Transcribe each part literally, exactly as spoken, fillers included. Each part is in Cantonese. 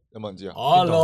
有冇人知啊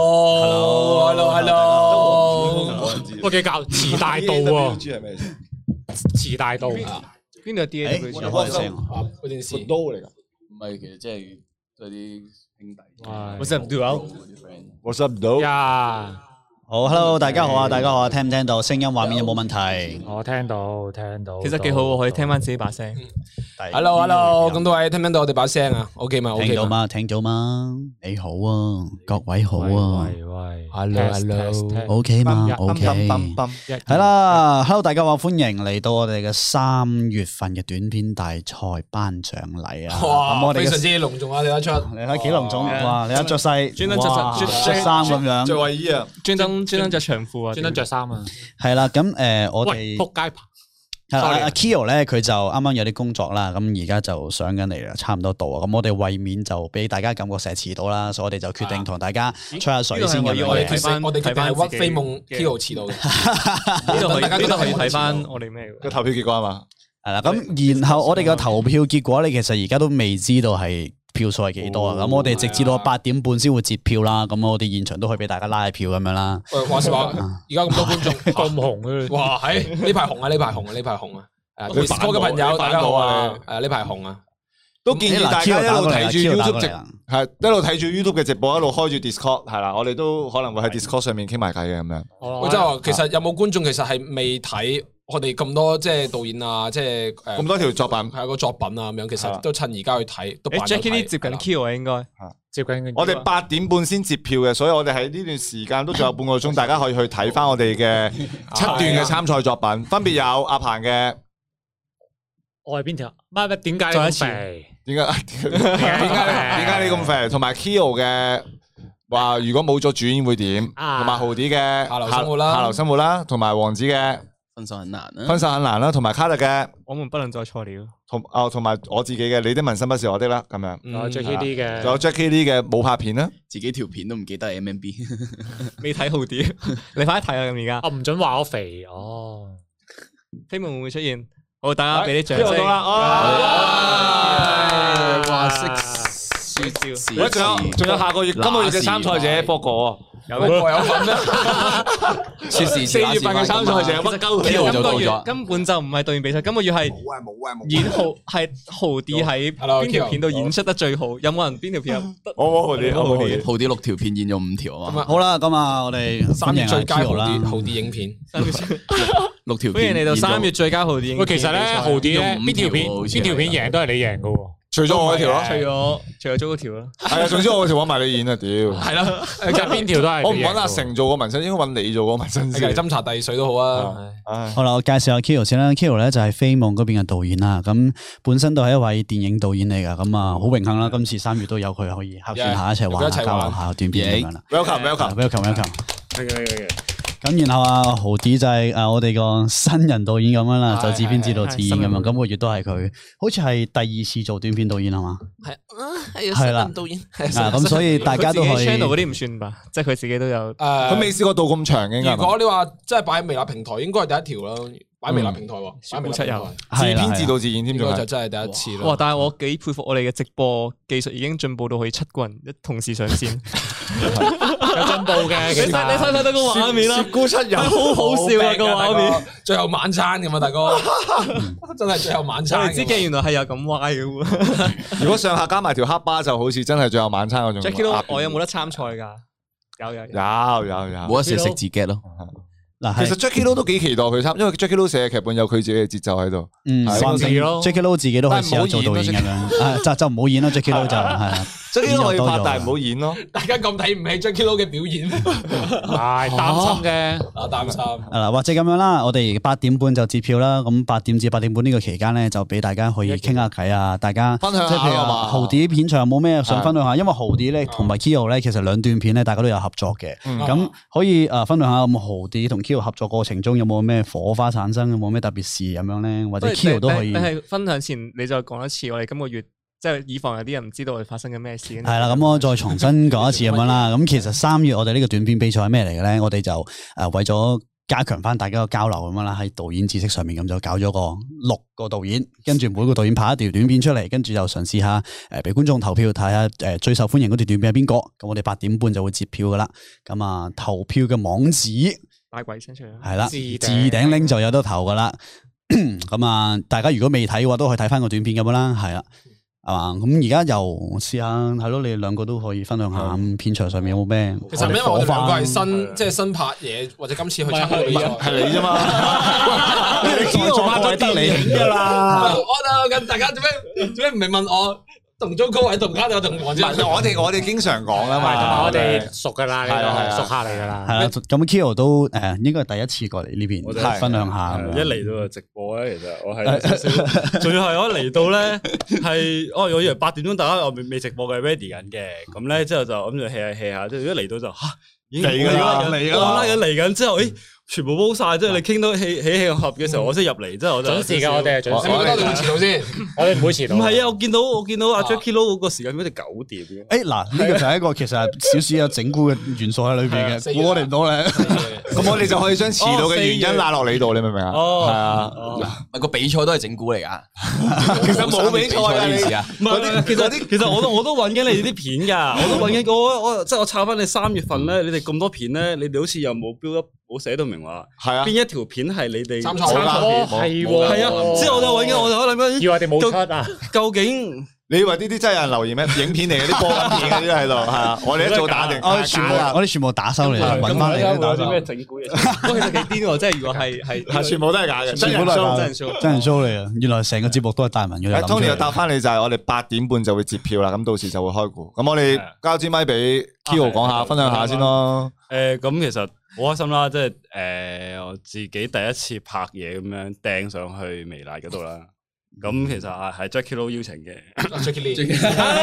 ？Hello，Hello，Hello， 我嘅教慈大道喎， 知係咩？ 慈大道邊度 D A W？ 有開聲啊，嗰件事刀嚟㗎。 唔係，其實即係即係啲兄弟。 What's up, dude？ What's up, dude？ 呀， 好 ，Hello， 大家好啊，大家好啊，聽唔聽到？聲音畫面有冇問題？ 我聽到聽到， 其實幾好喎，可以聽翻自己把聲。 係 Hello，Hello，咁多位聽唔聽到我哋把聲啊 ？OK 嘛 ？OK 嘛？ 聽到嗎？聽到嗎？你好啊，各位好啊。 喂喂 ，Hello，Hello，OK 嘛 ？OK，係啦 ，Hello， 大家好，歡迎嚟到我哋嘅三月份嘅短片大賽頒獎禮啊！ 哇，非常之隆重啊！你睇出， 你睇幾隆重哇！你睇着晒， 專登着着着衫咁樣， 着衛衣啊， 專登專登着長褲啊， 專登着衫啊！ 係啦，咁誒，我哋仆街係啦，阿 Kyo 咧佢就啱啱有啲工作啦，咁而家就上緊嚟啦，差唔多到啊。咁我哋為免就俾大家感覺成日遲到啦，所以我哋就決定同大家吹下水先咁樣。 我哋睇翻，我哋睇翻屈飛夢 Kyo 遲到嘅。呢度大家呢度可以睇翻我哋咩個投票結果啊嘛。 係啦，咁然後我哋嘅投票結果咧，其實而家都未知道係票數係幾多啊？咁我哋直至到八點半先會截票啦。咁我哋現場都可以俾大家拉票咁樣啦。 喂，話時話，而家咁多觀眾咁紅嘅， 哇！喺呢排紅啊，呢排紅啊，呢排紅啊！誒 ，Discord 嘅朋友大家好啊！誒，呢排紅啊， 都建議大家一路睇住 YouTube 直係一路睇住 YouTube 嘅直播，一路開住 Discord 係啦。我哋都可能會喺 Discord 上面傾埋偈嘅咁樣。 我即係話，其實有冇觀眾其實係未睇我哋咁多即係導演啊，即係誒咁多條作品係個作品啊咁樣，其實都趁而家去睇。都 Jackie Lee 接近 Q 啊，應該接近。 我哋八點半先截票嘅，所以我哋喺呢段時間都仲有半個鐘，大家可以去睇翻我哋嘅七段嘅參賽作品，分別有阿鵬嘅。 我係邊條？乜乜點解你咁肥？ 點解點解點解你咁肥？同埋 Kyo 嘅話，如果冇咗主演會點？同埋豪啲嘅下流生活啦， 下流生活啦，同埋王子嘅分手很難啦， 分手很難啦，同埋卡特嘅我們不能再錯了， 同哦同埋我自己嘅你的紋身不是我的啦，咁樣。 仲有 Jackie Lee 嘅， 仲有 Jackie Lee 嘅冇拍片啦， 自己條片都唔記得係 M M B， 未睇好啲，你快啲睇啊！咁而家我唔准話我肥哦， 飛夢會唔會出現？好，大家俾啲掌聲。 哇！識輸招， 喂，仲有仲有下個月今個月嘅參賽者博哥， 有博有份咩？ 說時四月份嘅參賽者乜鳩今個月根本就唔係導演比賽，今個月係冇啊冇啊冇演豪係豪啲喺邊條片度演出得最好？有冇人邊條片？ 我我豪啲我豪啲豪啲六條片演咗五條啊嘛。好啦，咁啊，我哋三月最佳豪啦， 啲豪啲影片。 六條歡迎嚟到三月最佳豪啲影片。 喂，其實咧豪啲咧邊條片邊條片贏都係你贏噶喎。 除咗我嗰條咯， 除咗除咗租嗰條咯， 係啊，總之我嗰條揾埋你演啊，屌！ 係啦， 其實邊條都係我唔揾阿成做個紋身，應該揾你做個紋身先。 斟茶遞水都好啊。 好啦，我介紹下 Kyo 先啦。Kyo 咧就係飛夢嗰邊嘅導演啦。咁本身都係一位電影導演嚟噶。咁啊，好榮幸啦，今次三月都有佢可以客串下一齊玩下交流下短片咁樣啦。 Welcome，welcome，welcome。 咁然後啊，豪啲就係誒我哋個新人導演咁樣啦，就自編自導自演咁樣。今個月都係佢，好似係第二次做短片導演係嘛？ 係啊，係新人導演。 啊，咁所以大家都可以。 channel 嗰啲唔算吧？即係佢自己都有。誒， 佢未試過到咁長嘅。 如果你話真係擺喺微辣平台，應該係第一條啦。擺微辣平台喎，擺微辣平台， 自編自導自演添， 應該就真係第一次咯。 哇！但係我幾佩服我哋嘅直播技術已經進步到可以七個人一同時上線， 有進步嘅。 你睇你睇睇到個畫面啦， 雪姑七人好好笑啊個畫面， 最後晚餐咁啊，大哥，真係最後晚餐。 我哋知嘅原來係有咁歪嘅喎。 如果上下加埋條黑巴，就好似真係最後晚餐嗰種。 Jackie，我有冇得參賽㗎？有有有有有， 冇得食食自己咯。 嗱，其實 Jackie Lou 都幾期待佢參，因為 Jackie Lou 寫嘅劇本有佢自己嘅節奏喺度。 嗯， 係 Jackie Lou 自己都可以試下做導演咁樣，就就唔好演咯。Jackie Lou 就係啊 ，Jackie Lou 可以拍，但係唔好演咯。 大家咁睇唔起 Jackie Lou 嘅表演， 係擔心嘅， 啊擔心。 嗱，或者咁樣啦，我哋八點半就截票啦。咁八點至八點半呢個期間咧，就俾大家可以傾下偈啊，大家分享下即係譬如話豪啲片場有冇咩想分享下？因為豪啲咧同埋 Kyo 咧，其實兩段片咧，大家都有合作嘅。咁可以誒分享下咁豪啲同 Kyo 合作過程中有冇咩火花產生？有冇咩特別事咁樣咧？或者 Kyo 都可以。 你係分享前你再講一次，我哋今個月即係以防有啲人唔知道我哋發生緊咩事。 係啦，咁我再重新講一次咁樣啦。咁其實三月我哋呢個短片比賽係咩嚟嘅咧？我哋就誒為咗加強翻大家個交流咁樣啦，喺導演知識上面咁就搞咗個六個導演，跟住每個導演拍一條短片出嚟，跟住就嘗試下誒俾觀眾投票睇下誒最受歡迎嗰條短片係邊個，咁我哋八點半就會截票噶啦，咁啊投票嘅網址大鬼聲出嚟， 係啦，置頂拎就有得投噶啦，咁啊大家如果未睇嘅話都可以睇翻個短片咁樣啦，係啦。係嘛？咁而家又試下係咯，你哋兩個都可以分享下片場上面有冇咩？ 其實因為我哋兩個係新，即係新拍嘢，或者今次去參加比賽， 係你啫嘛？你在座拍咗得你噶啦。 我啊，咁大家做咩做咩唔係問我？同中高位同家就同黃子， 我哋我哋經常講啦嘛， 我哋熟噶啦，呢個熟客嚟噶啦。 係啊，咁 Kyo 都誒應該係第一次過嚟呢邊分享下。 一嚟到就直播咧，其實我係仲要係我嚟到咧係，哦，我以為八點鐘大家我未未直播嘅 ready 緊嘅，咁咧之後就諗住 hea 下 hea 下，即係一嚟到就吓已經嚟啦嚟啦，拉緊嚟緊之後，誒。全部煲晒，即係你傾到起起起合嘅時候，我先入嚟，之後我就準時㗎，我哋係準時。 你覺得你會遲到先？ 我哋唔會遲到。 唔係啊，我見到我見到阿 Jacky Lou 嗰個時間好似九點嘅。 誒嗱，呢個就係一個其實少少有整蠱嘅元素喺裏邊嘅，估我哋唔到咧。 咁我哋就可以將遲到嘅原因賴落你度，你明唔明啊？ 哦， 係啊， 個比賽都係整蠱嚟㗎。 其實冇比賽啊，呢件事啊。 唔係，其實其實我都我都揾緊你哋啲片㗎，我都揾緊我我即係我抄翻你三月份咧，你哋咁多片咧，你哋好似又冇 build up。冇寫到明話，係啊，邊一條片係你哋參賽片？ 係喎， 係啊，之後我就揾緊，我就諗緊， 以為我哋冇出啊？ 究竟你以為呢啲真係有人留言咩？影片嚟嘅啲播緊片嗰啲喺度，係啊，我哋一早打定， 我哋全部我哋全部打收嚟，揾翻嚟嘅打收。 咩整蠱嘢？不過其實幾癲喎，即係如果係係係全部都係假嘅， 全部都係假真人 show， 真人 show 嚟嘅。原來成個節目都係大文嘅。 Tony 又答翻你就係我哋八點半就會截票啦，咁到時就會開估。咁我哋交支咪俾 Kyo 講下，分享下先咯。 誒，咁其實。好開心啦，即係誒我自己第一次拍嘢咁樣掟上去微辣嗰度啦。咁其實係係 Jacky Lou 邀請嘅 ，Jacky Lou。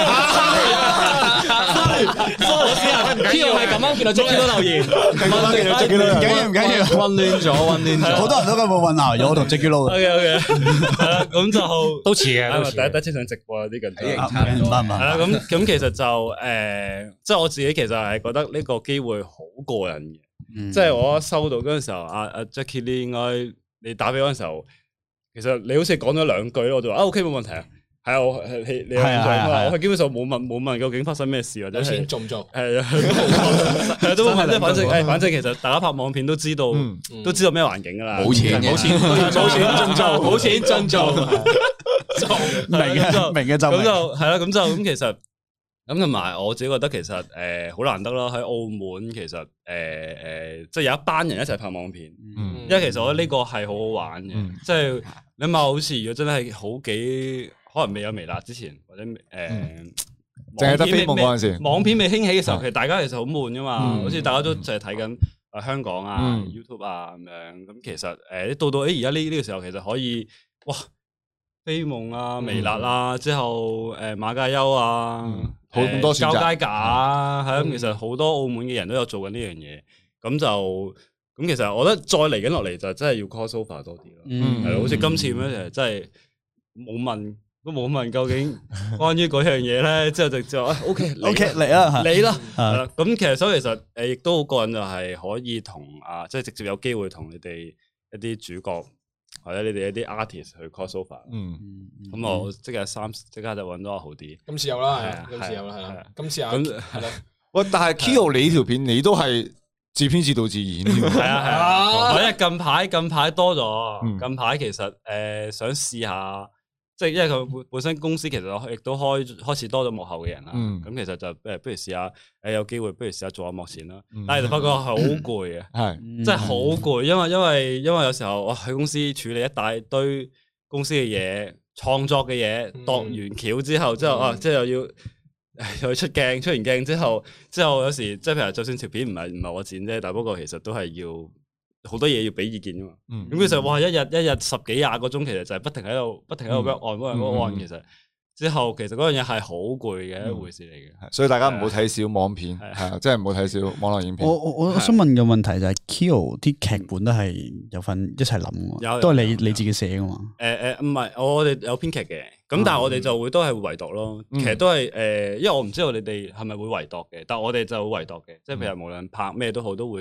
Kyo 係咁樣見到 Jacky Lou 留言， 唔緊要唔緊要， 混亂咗混亂咗， 好多人都根本混淆咗我同 Jacky Lou。 OK OK，係啦，咁就都似嘅， 第一第一次上直播有啲緊張。 唔係唔係， 係啦，咁咁其實就誒，即係我自己其實係覺得呢個機會好過癮嘅。即係我一收到嗰陣時候，阿阿 Jacky Lou 應該你打俾嗰陣時候，其實你好似講咗兩句，我就話啊 OK 冇問題啊，係啊，我係你你我係基本上冇問冇問究竟發生咩事或者係做唔做？ 係啊，係啊，都冇問，即係反正誒，反正其實大家拍網片都知道，都知道咩環境噶啦， 冇錢冇錢冇錢盡做，冇錢盡做， 明嘅明嘅就咁就係啦，咁就咁其實。咁同埋我自己覺得其實誒好難得啦，喺澳門其實誒誒、呃呃、即係有一班人一齊拍網片，嗯、因為其實我覺得呢個係好好玩嘅，嗯、即係你諗下好似如果真係好幾可能未有微辣之前或者誒， 淨係得飛夢嗰陣時， 網片未興起嘅時候，其實大家其實好悶噶嘛，嗯、好似大家都淨係睇緊啊香港啊、嗯、YouTube 啊咁樣，咁其實誒、呃、到到誒而家呢呢個時候其實可以哇飛夢啊、微辣啊，之後誒馬介休啊。 好咁多選擇， 交街架啊，係咁，其實好多澳門嘅人都有做緊呢樣嘢，咁就咁其實我覺得再嚟緊落嚟就真係要 cross over 多啲咯，係咯，好似今次咁樣，其實真係冇問都冇問究竟關於嗰樣嘢咧，之後就就 OK OK 嚟啦， 嚟啦，係啦，咁其實所以其實誒亦都好過癮，就係可以同啊，即係直接有機會同你哋一啲主角。或者你哋一啲 artist 去 cross over，嗯，咁我即刻三即刻就揾咗阿豪啲， 今次有啦，係，今次有啦，係啦，今次有，係啦。 喂，但係 Kyo 你呢條片你都係自編自導自演， 係啊係啊，因為近排近排多咗，近排其實誒想試下，即係因為佢本身公司其實亦都開開始多咗幕後嘅人啦，咁其實就誒不如試下誒有機會不如試下做下幕前啦，但係就發覺好攰啊，係真係好攰，因為因為因為有時候我喺公司處理一大堆公司嘅嘢、創作嘅嘢，度完橋之後之後啊，即係又要又要出鏡，出完鏡之後之後有時即係譬如就算條片唔係唔係我剪啫，但不過其實都係要。好多嘢要俾意見噶嘛，咁其實哇一日一日十幾廿個鐘，其實就係不停喺度不停喺度 work on work on work on，其實之後其實嗰樣嘢係好攰嘅一回事嚟嘅， 所以大家唔好睇小網片，係啊，真係唔好睇小網絡影片。 我我我想問個問題就係 Kyo 啲劇本都係有份一齊諗嘅，都係你你自己寫噶嘛？誒誒唔係，我哋有編劇嘅，咁但係我哋就會都係會圍讀咯，其實都係誒，因為我唔知道你哋係咪會圍讀嘅，但係我哋就會圍讀嘅，即係譬如無論拍咩都好，都會。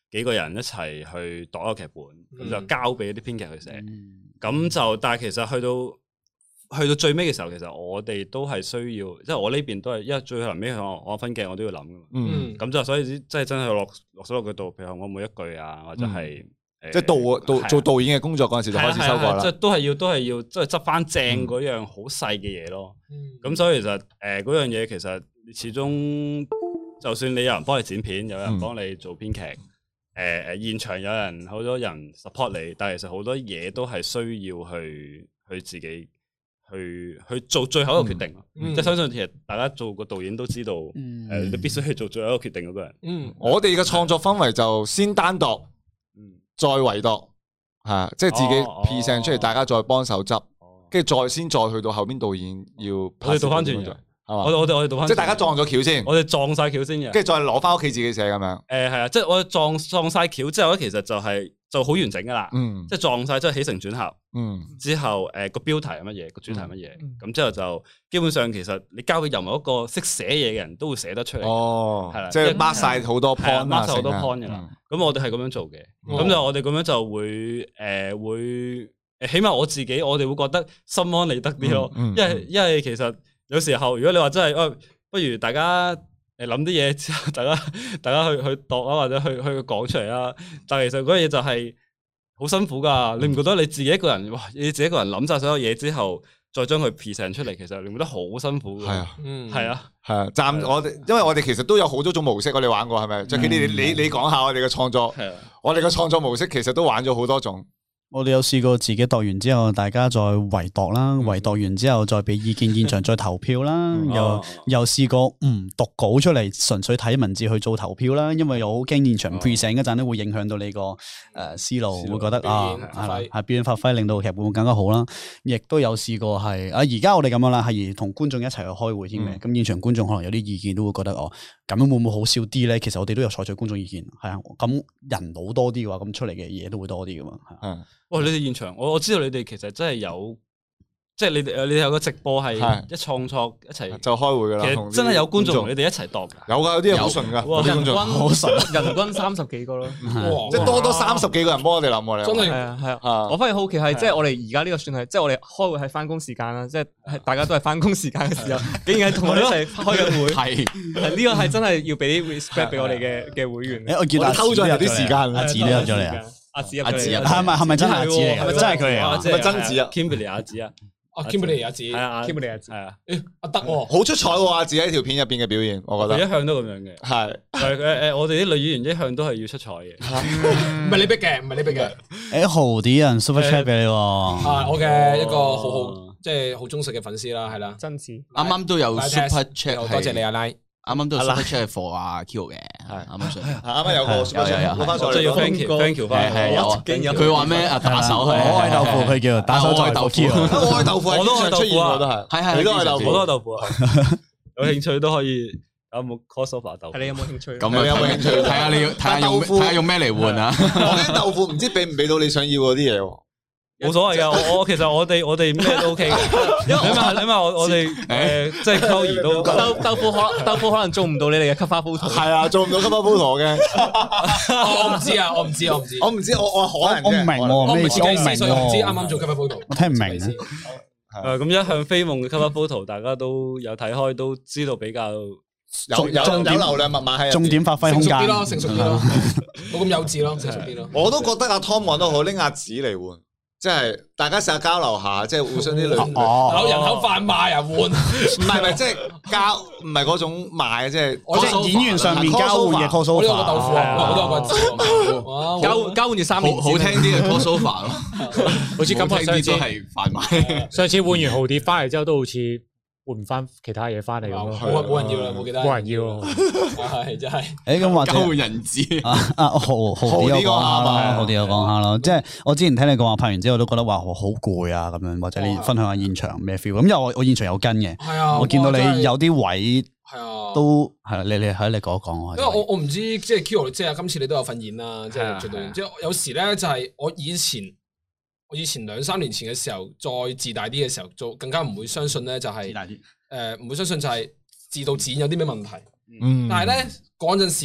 幾個人一齊去度一個劇本，咁、嗯、就交俾啲編劇去寫。咁、 嗯、就但係其實去到去到最尾嘅時候，其實我哋都係需要，即係我呢邊都係，因為最後尾我我分鏡我都要諗㗎嘛。嗯，咁就所以即係真係落落手落腳度，譬如我每一句啊，或者係。嗯即係導導做導演嘅工作嗰陣時就開始修改啦， 即係都係要都係要即係執翻正嗰樣好細嘅嘢咯。咁所以其實誒嗰樣嘢其實始終就算你有人幫你剪片，有人幫你做編劇，誒誒現場有人好多人 support 你，但係其實好多嘢都係需要去去自己去去做最後一個決定咯。即係相信其實大家做個導演都知道，誒你必須去做最後一個決定嗰個人。嗯，我哋嘅創作氛圍就先單獨。再圍度，係即係自己 present 出嚟，大家再幫手執，跟住再先再去到後邊導演要。我哋倒翻轉，係嘛？我我哋我哋倒翻，即係大家撞咗橋先，我哋撞晒橋先嘅，跟住再攞翻屋企自己寫咁樣。誒係啊，即係我哋撞撞晒橋之後咧，其實就係就好完整噶啦。嗯，即係撞晒即係起承轉合。嗯，之後誒個標題係乜嘢，個主題係乜嘢，咁之後就基本上其實你交俾任何一個識寫嘢嘅人都會寫得出嚟。哦，係啦，即係 mark 晒好多 point，mark 晒好多 point 嘅啦。咁我哋係咁樣做嘅，咁就我哋咁樣就會誒會誒，起碼我自己我哋會覺得心安理得啲咯。因為因為其實有時候如果你話真係，誒不如大家誒諗啲嘢之後，大家大家去去度啊，或者去去講出嚟啦。但係其實嗰樣嘢就係。好辛苦噶，你唔覺得你自己一個人，哇！你自己一個人諗晒所有嘢之後，再將佢 present 出嚟，其實你唔覺得好辛苦？係啊，嗯，係啊，係啊。暫我哋，因為我哋其實都有好多種模式，我哋玩過係咪？最緊你你你講下我哋嘅創作，係啊，我哋嘅創作模式其實都玩咗好多種。 我哋有試過自己度完之後，大家再圍度啦，圍度完之後再俾意見，現場再投票啦。又又試過唔讀稿出嚟，純粹睇文字去做投票啦。因為又好驚現場 present 嗰陣咧，會影響到你個誒思路，會覺得啊係表演發揮，令到劇本會更加好啦。亦都有試過係啊，而家我哋咁樣啦，係同觀眾一齊去開會添嘅。咁現場觀眾可能有啲意見都會覺得哦，咁樣會唔會好笑啲咧？其實我哋都有採取觀眾意見，係啊。咁人腦多啲嘅話，咁出嚟嘅嘢都會多啲噶嘛。嗯。哇！你哋現場，我我知道你哋其實真係有，即係你哋你有個直播係一創作一齊就開會噶啦。 其實真係有觀眾同你哋一齊度噶。 有噶，有啲人好順噶， 人均好順， 人均三十幾個咯。 即係多多三十幾個人幫我哋諗喎，你真係係啊係啊！我反而好奇係，即係我哋而家呢個算係，即係我哋開會係翻工時間啦，即係大家都係翻工時間嘅時候，竟然係同我哋一齊開緊會。係係呢個係真係要俾啲 respect 俾我哋嘅嘅會員。 我見到偷咗有啲時間， 阿子都入咗嚟啊！ 阿子阿子係咪係咪真係阿子嚟？係咪真係佢嚟啊？ 係咪真子啊 ？Kimberly 阿子啊， 啊 Kimberly 阿子， 係啊 Kimberly 阿子， 係啊， 誒阿德喎， 好出彩喎！阿子喺條片入邊嘅表現，我覺得佢一向都咁樣嘅，係誒誒，我哋啲女演員一向都係要出彩嘅， 唔係你逼嘅，唔係你逼嘅。 誒豪啲人 super chat 俾你喎， 啊我嘅一個好好即係好忠實嘅粉絲啦，係啦， 真子啱啱都有 super chat， 多謝你阿拉。 啱啱都 super chat for 阿 Q 嘅，係啱啱上， 啱啱有個 super chat，攞翻上嚟， 即係要 thank you，thank you 翻， 係有。佢話咩啊？打手係， 我愛豆腐，佢叫打手愛豆腐， 我愛豆腐，我都愛豆腐啊，都係， 係係， 你都愛豆腐， 我都愛豆腐啊，有興趣都可以有冇 crossover 豆腐？ 係你有冇興趣？ 咁有冇興趣？睇下你要睇下用睇下用咩嚟換啊？ 我啲豆腐唔知俾唔俾到你想要嗰啲嘢喎。 冇所謂噶，我我其實我哋我哋咩都 OK 嘅，因為你話你話我我哋誒即係溝兒都豆豆腐可豆腐可能做唔到你哋嘅 cover photo， 係啊，做唔到 cover photo 嘅。 我唔知啊，我唔知，我唔知， 我唔知，我我可能我唔明喎， 我唔知， 我唔明所以我唔知啱啱做 cover photo， 我聽唔明。 誒咁一向飛夢嘅 cover photo，大家都有睇開，都知道比較有有有流量密碼喺重點發揮空間啲咯，成熟啲咯，冇咁幼稚咯，成熟啲咯。 我都覺得阿 Tom 講得好，拎阿子嚟換。即係大家成日交流下，即係互相啲女， 哦，人口販賣啊換，唔係唔係即係交，唔係嗰種賣，即係即係演員上面交換嘅 crossover， 呢個豆腐啊，好多個字， 交交換住三年， 好聽啲嘅 crossover 咯， 好似咁聽啲都係販賣。 上次換完豪蝶翻嚟之後，都好似換唔翻其他嘢翻嚟咁咯， 冇冇人要啦，冇記得， 冇人要咯， 係真係。 誒咁或者交換人質啊啊豪豪啲有講下啦，豪啲有講下咯。即係我之前聽你講話拍完之後都覺得話好攰啊咁樣，或者你分享下現場咩 feel？咁因為我我現場有跟嘅， 係啊， 我見到你有啲位係啊， 都係你你喺你講一講我。 因為我我唔知即係 Kyo 即係今次你都有份演啦，即係做導演。即係有時咧就係我以前我以前兩三年前嘅時候，再自大啲嘅時候，做更加唔會相信咧就係。誒，唔會相信就係自導自演有啲咩問題，嗯，但係咧嗰陣時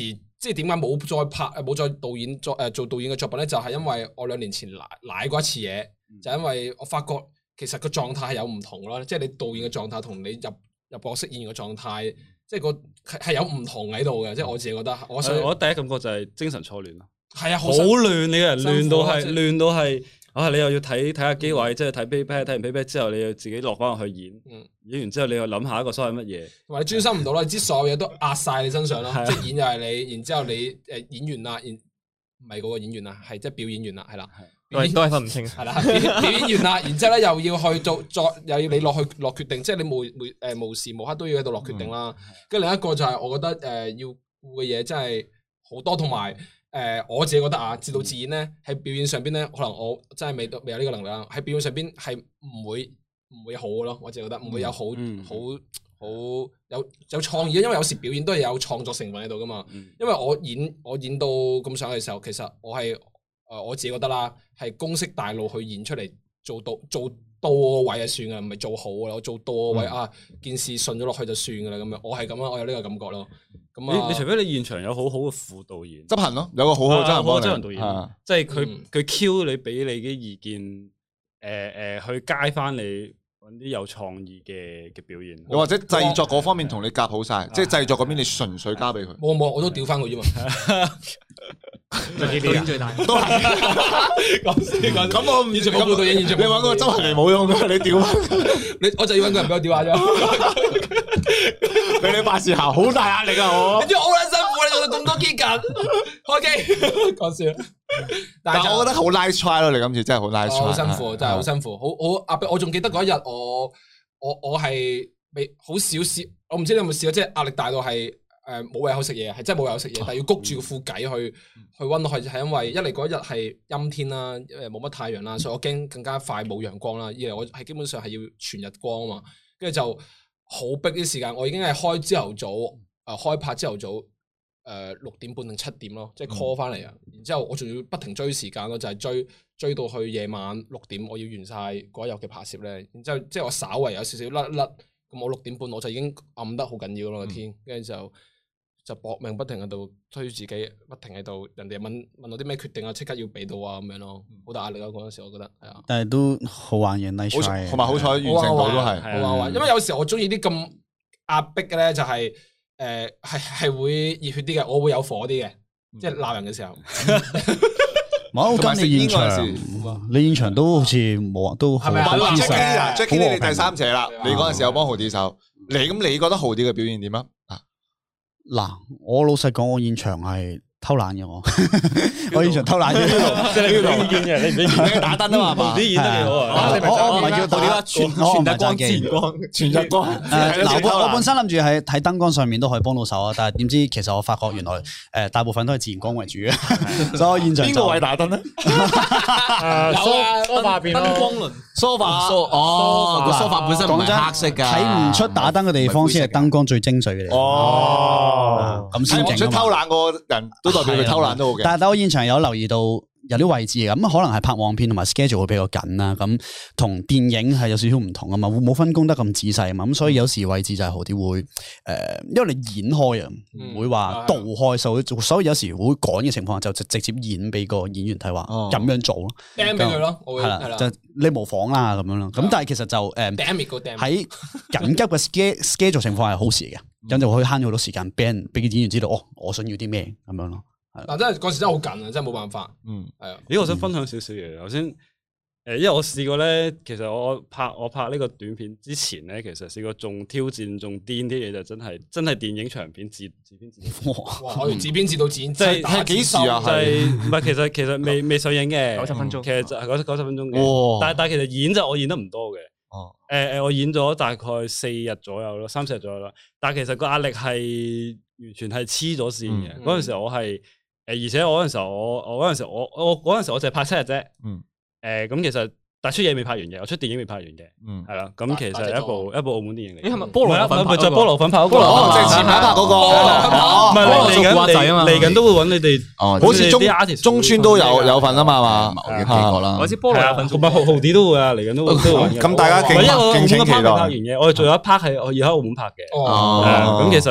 即係點解冇再拍誒冇再導演作誒做導演嘅作品咧？就係因為我兩年前舐舐過一次嘢，就因為我發覺其實個狀態係有唔同咯，即係你導演嘅狀態同你入入角色演員嘅狀態，即係個係有唔同喺度嘅。即係我自己覺得，我想我第一感覺就係精神錯亂咯。 係啊， 好亂，你個人亂到係亂到係。啊！你又要睇睇下機位，即係睇 playback，睇完 playback 之後，你要自己落翻去演，演完之後你又諗下一個所謂乜嘢， 同埋你專心唔到啦，你知所有嘢都壓晒你身上咯，即係演又係你，然之後你誒演員啦，演唔係嗰個演員啦，係即係表演員啦，係啦， 都係分唔清， 係啦，表演員啦，然之後咧又要去做再又要你落去落決定，即係你無每誒無時無刻都要喺度落決定啦。跟住另一個就係我覺得誒要顧嘅嘢真係好多，同埋。誒、呃、我自己覺得啊，自導自演咧喺表演上邊咧，可能我真係未到未有呢個能力啦。喺表演上邊係唔會唔會好嘅咯，我自己覺得唔會有好好好有有創意，因為有時表演都係有創作成分喺度噶嘛。嗯、因為我演我演到咁上嘅時候，其實我係誒、呃、我自己覺得啦，係公式大路去演出嚟做到做到個位就算噶，唔係做好啦。我做到個位、嗯、啊，件事順咗落去就算噶啦咁樣。我係咁樣，我有呢個感覺咯。 你你除非你現場有好好嘅副導演執行咯，有個好好嘅執行導演，即係佢佢 Q 你俾你嘅意見，誒誒去街翻你揾啲有創意嘅嘅表演， 又或者製作嗰方面同你夾好晒，即係製作嗰邊你純粹交俾佢。 冇冇，我都調翻佢啫嘛。 導演最大， 都係講笑講笑。咁我唔現場冇副導演，現場你揾個執行嚟冇用嘅，你調翻你，我就要揾個人俾我調下啫。 俾你辦事效好大壓力啊！我你知我好撚辛苦，你做到咁多機緊開機，講笑。 但係我覺得好 nice try 咯，你今次真係好 nice try， 好辛苦，真係好辛苦，好好壓迫。我仲記得嗰一日，我我我係未好少試，我唔知你有冇試過，即係壓力大到係誒冇胃口食嘢，係真係冇胃口食嘢，但係要谷住個副偈去去溫落去，係因為一嚟嗰日係陰天啦，誒冇乜太陽啦，所以我驚更加快冇陽光啦。二嚟我係基本上係要全日光啊嘛，跟住就。好逼啲時間，我已經係開朝頭早，誒、呃、開拍朝頭早，誒、呃、六點半定七點咯，即係 call 翻嚟啊！嗯、然之後我仲要不停追時間咯，就係、是、追追到去夜晚六點，我要完晒嗰日嘅拍攝咧。然之後即係我稍為有少少甩甩，咁我六點半我就已經暗得好緊要咯個天，跟住、嗯、就就搏命不停喺度推自己，不停喺度人哋問問我啲咩決定啊，即刻要俾到啊咁樣咯，好大壓力咯嗰陣時，我覺得係啊。但係都好玩嘅 nice try， 同埋好彩完成到都係好玩，因為有時我中意啲咁壓迫嘅咧，就係誒係係會熱血啲嘅，我會有火啲嘅，即係鬧人嘅時候。 冇跟你現場，你現場都好似冇，都係咪啊 ？Jackie 你第三者啦，你嗰陣時有幫豪啲手，你咁你覺得豪啲嘅表現點啊？ 嗱，我老實講，我現場係偷懶嘅我，我現場偷懶嘅， 即係你唔俾意見嘅，你唔俾意見打燈啊嘛，啲演得幾好啊！ 我唔係叫打，全全日光前光，全日光。嗱，我我本身諗住喺睇燈光上面都可以幫到手啊，但係點知其實我發覺原來誒大部分都係自然光為主嘅，所以我現場邊個位打燈咧？ 有啊，梳化邊燈光輪， 梳化哦，個梳化本身唔係黑色噶， 睇唔出打燈嘅地方先係燈光最精髓嘅地方。哦，咁先勁啊嘛！ 偷懶個人都代表佢偷懶都好嘅。 但係我現場有留意到有啲位置嘅，咁可能係拍旺片同埋 schedule 會比較緊啦。咁同電影係有少少唔同啊嘛，會冇分工得咁仔細啊嘛。咁所以有時位置就係好啲會誒，因為你演開啊，唔會話導開，所以所以有時會趕嘅情況下就直接演俾個演員睇話咁樣做咯， 掟俾佢咯， 係啦，就你模仿啦咁樣咯。咁但係其實就誒喺緊急嘅 schedule 情況係好事嘅，咁就可以慳咗好多時間，俾人俾個演員知道哦，我想要啲咩咁樣咯。 嗱，真係嗰時真係好緊啊，真係冇辦法。嗯，係啊。 咦，我想分享少少嘢。頭先誒，因為我試過咧，其實我拍我拍呢個短片之前咧，其實試過仲挑戰仲癲啲嘢，就真係真係電影長片自自編自導。 哇！可以自編自導剪， 即係係幾時啊？ 係唔係？其實其實未未上映嘅， 九十分鐘。 其實就係九九十分鐘嘅。但係但係其實演就我演得唔多嘅。 哦。 誒誒，我演咗大概四日左右咯，三四日左右啦。但係其實個壓力係完全係黐咗線嘅。嗰陣時我係。誒，而且我嗰陣時候，我我嗰陣時候，我我嗰陣時候我淨係拍七日啫。嗯。誒，咁其實但出嘢未拍完嘅，我出電影未拍完嘅。嗯。係啦，咁其實係一部一部澳門電影嚟。 係咪菠蘿粉？ 咪就菠蘿粉拍嗰個。 哦，即係前排拍嗰個。 唔係嚟緊嚟緊都會揾你哋。 哦。好似中中村都有有份啊嘛嘛。 我幾個啦。 我知菠蘿粉。 同埋豪豪啲都會啊，嚟緊都會都會揾。 咁大家敬敬請期待。 拍完嘅，我哋仲有一 part 係我要喺澳門拍嘅。哦。咁其實。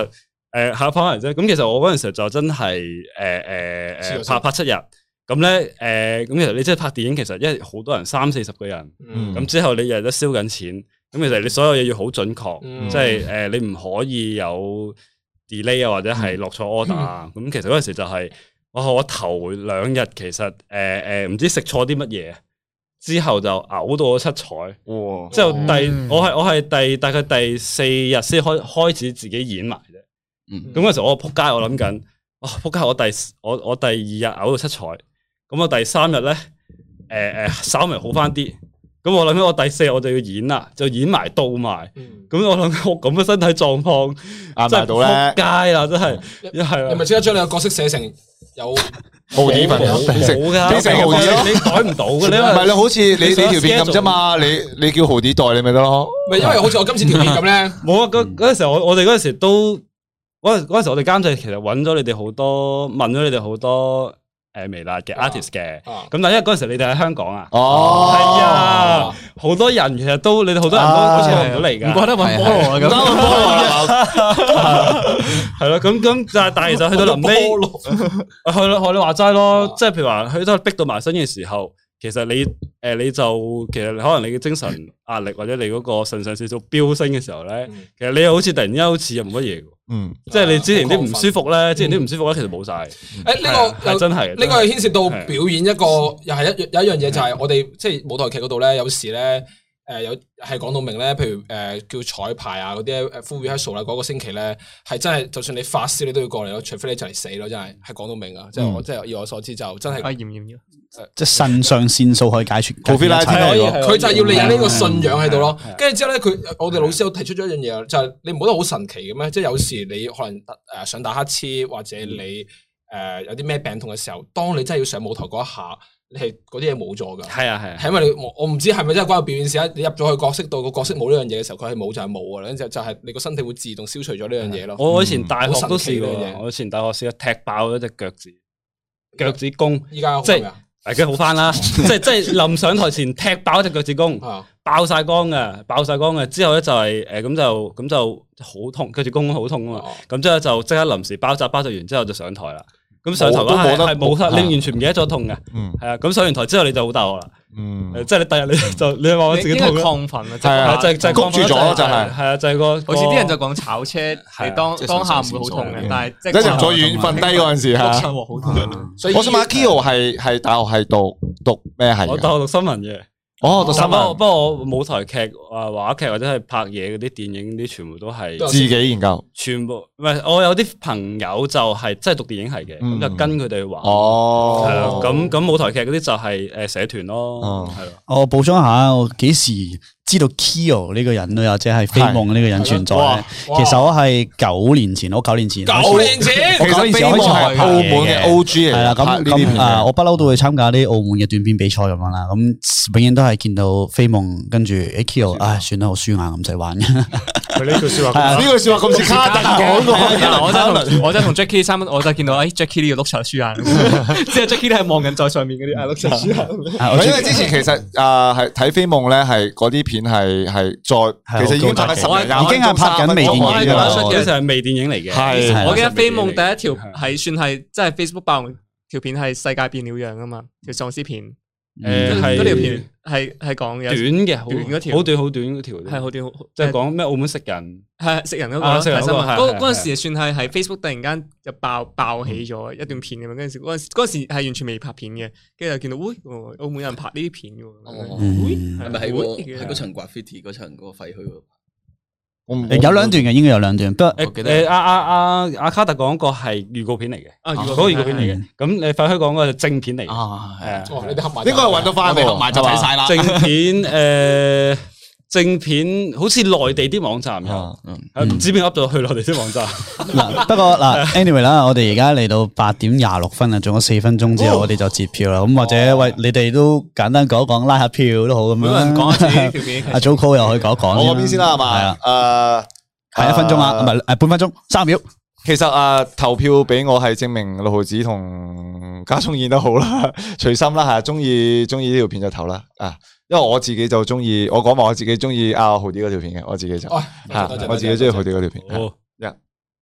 誒下翻嚟啫。咁其實我嗰陣時候就真係誒誒誒拍拍七日。咁咧，誒，咁其實你即係拍電影，其實因為好多人三四十個人，咁、嗯、之後你日日都燒緊錢，咁其實你所有嘢要好準確，嗯、即係誒，你唔可以有 delay 啊，或者係落錯 order 啊。咁、嗯、其實嗰陣時就係、是，我我頭兩日其實誒誒，唔、呃、知食錯啲乜嘢，之後就嘔到我七彩。哇！之後第、嗯、我係我係第大概第四日先開開始自己演埋啫。咁嗰陣時我仆街，我諗緊，哇仆街！我第我我第二日嘔到七彩。咁我第三日咧，誒、呃、誒，稍微好翻啲。咁我諗起我第四日我就要演啦，就演埋到埋。咁、嗯、我諗我咁嘅身體狀況，真係撲街啦！真係，一係你咪即刻將你個角色寫成有豪啲份， 冇噶， 變成豪啲咯。 你改唔到嘅，你唔係你好似你你條片咁啫嘛？你你叫豪啲代你咪得咯。 咪因為好似我今次條片咁咧， 冇啊！嗰嗰陣時我我哋嗰陣時都嗰陣嗰陣時我哋監製其實揾咗你哋好多，問咗你哋好多。誒，微辣嘅 artist 嘅，咁但係因為嗰陣時你哋喺香港啊，哦，係啊，好多人其實都你哋好多人都好似嚟唔到嚟噶，唔覺得搵菠蘿啊，咁搵菠蘿啊，係咯，咁咁但係但係其實去到臨尾，係咯，學你話齋咯，即係譬如話去到逼到埋身嘅時候，其實你誒你就其實可能你嘅精神壓力或者你嗰個腎上腺素飆升嘅時候咧，其實你又好似突然間好似又冇乜嘢。嗯，即係你之前啲唔舒服咧，之前啲唔舒服咧，其實冇晒。 誒，呢個係真係， 呢個係牽涉到表演一個，又係一有一樣嘢就係我哋即係舞台劇嗰度咧，有時咧誒有係講到明咧，譬如誒叫彩排啊嗰啲誒 full rehearsal 啦，嗰個星期咧係真係，就算你發燒你都要過嚟咯，除非你就嚟死咯，真係係講到明啊！即係我即係以我所知就真係。啊，要唔要？ 即係腎上腺素可以解決， 佢就係要你有呢個信仰喺度咯。跟住之後咧，佢我哋老師有提出咗一樣嘢，就係你唔覺得好神奇嘅咩？即係有時你可能誒想打乞嗤，或者你誒有啲咩病痛嘅時候，當你真係要上舞台嗰一下，你係嗰啲嘢冇咗噶。係啊係啊，係因為你我唔知係咪真係關個表演事啊？你入咗去角色度，個角色冇呢樣嘢嘅時候，佢係冇就係冇噶啦。跟住就係你個身體會自動消除咗呢樣嘢咯。我以前大學都試過，我以前大學試過踢爆咗隻腳趾，腳趾公。依家即係。大家好翻啦，即係即係臨上台前踢爆一隻腳趾公，爆晒光嘅，爆晒光嘅。之後咧就係誒咁就咁就好痛，腳趾公好痛啊嘛。咁之後就即刻臨時包紮，包紮完之後就上台啦。咁上台嗰下係冇得，你完全唔記得咗痛嘅。係啊，咁上完台之後你就好大鑊啦。嗯，即係你第日你就你話我自己痛亢奮啊，係啊，就就谷住咗就係，係啊，就係個好似啲人就講炒車係當當下唔會好痛嘅，但係即係入咗院瞓低嗰陣時吓，好痛。我想問 Kio 係係大學係讀讀咩係？我大學讀新聞嘅。哦，讀新聞。不過我舞台劇啊、話劇或者係拍嘢嗰啲電影啲，全部都係自己研究。全部唔係，我有啲朋友就係真係讀電影系嘅，咁就跟佢哋玩。哦，係啦，咁咁舞台劇嗰啲就係誒社團咯，係咯。我補充下，我幾時知道 Kio 呢個人咧，或者係飛夢呢個人存在咧？其實我係九年前，我九年前，九年前，我九年前開始係澳門嘅 O G 嚟，係啦。咁咁啊，我不嬲都會參加啲澳門嘅短片比賽咁樣啦。咁永遠都係見到飛夢，跟住 Kio，唉，算啦，好輸硬咁唔使玩嘅。佢呢句說話，呢句說話咁似卡特講嘅。我真係我真係同 Jackie 三蚊，我就見到誒 Jackie 呢個碌柒輸硬，即係 Jackie 都係望緊在上面嗰啲碌柒輸硬。因為之前其實啊係睇飛夢咧，係嗰啲片係係再，其實已經拍緊十年，已經係拍緊微電影噶啦。其實係微電影嚟嘅。係，我記得飛夢第一條係算係即係 Facebook 爆條片係世界變了樣啊嘛，條喪屍片。誒，嗰條片係係講嘅短嘅，短嗰條，好短好短嗰條，係好短，即係講咩澳門食人，係食人嗰個睇新聞。嗰嗰陣時算係係 Facebook 突然間就爆爆起咗一段片咁樣，嗰陣時嗰陣嗰陣時係完全未拍片嘅，跟住就見到，喂，澳門有人拍呢啲片嘅，係咪喺喺嗰層 graffiti 嗰層嗰個廢墟度？有兩段嘅，應該有兩段。不過誒，阿阿阿阿卡特講個係預告片嚟嘅，嗰個預告片嚟嘅。咁你廢墟講個係正片嚟嘅，係啊。你哋合埋，應該係搵到翻，合埋就睇晒啦。正片誒，正片好似內地啲網站有，唔知邊噏到去內地啲網站。嗱，不過嗱 ，anyway 啦，我哋而家嚟到八點廿六分啦，仲有四分鐘之後，我哋就截票啦。咁或者喂，你哋都簡單講一講，拉下票都好咁樣。有人講下自己條片。阿 Joco 又可以講一講。我嗰邊先啦，係嘛？係啊。誒，係一分鐘啊，唔係誒，半分鐘，三秒。其實啊，投票俾我係證明六毫子同家聰演得好啦，隨心啦，係中意中意呢條片就投啦啊。因為我自己就中意，我講埋我自己中意阿豪啲嗰條片嘅，我自己就，吓，我自己中意豪啲嗰條片。好，一，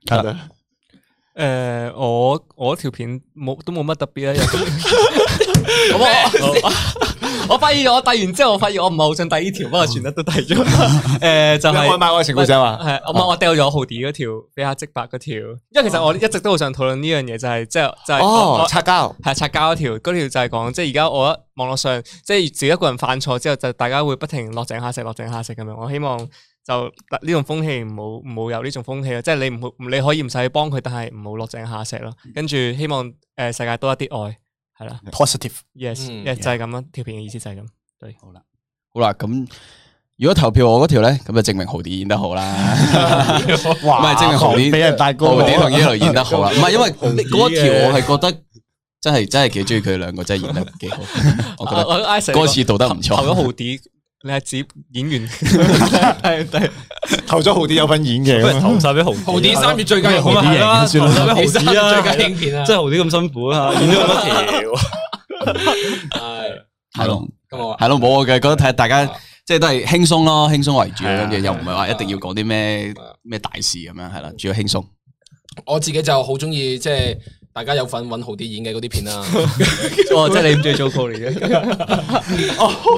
係啦。 誒，我我條片冇都冇乜特別啊。我我發現我遞完之後，我發現我唔係好想遞呢條，不過全部都遞咗。誒，就係外賣愛情故事嘛。 係我我掉咗豪迪嗰條，比較即白嗰條。因為其實我一直都好想討論呢樣嘢，就係即係就係哦擦膠係擦膠嗰條，嗰條就係講即係而家我覺得網絡上即係自己一個人犯錯之後，就大家會不停落井下石、落井下石咁樣。我希望就呢種風氣唔好唔好有呢種風氣咯，即係你唔好你可以唔使去幫佢，但係唔好落井下石咯。跟住希望誒世界多一啲愛。係啦 ，positive，yes， 就係咁咯。條片嘅意思就係咁。對， 好啦，好啦，咁如果投票我嗰條咧，咁就證明豪迪演得好啦。唔係證明豪迪俾人大哥， 豪迪同 Yellow 演得好啦。唔係因為嗰條我係覺得真係真係幾中意佢哋兩個，真係演得幾好。我覺得歌詞讀得唔錯。 投咗豪迪，你係指演員係係投咗豪迪有份演嘅， 投晒俾豪迪。 豪迪三月最佳影片啦， 算啦，豪迪三月最佳影片啊， 即係豪迪咁辛苦啊，演咗咁多條。 係係咯， 咁我係咯，冇我嘅，覺得睇大家即係都係輕鬆咯，輕鬆為主，跟住又唔係話一定要講啲咩咩大事咁樣，係啦，主要輕鬆。 我自己就好中意即係大家有份揾豪迪演嘅嗰啲片啦。 哦，即係你唔中意做 call 嚟嘅。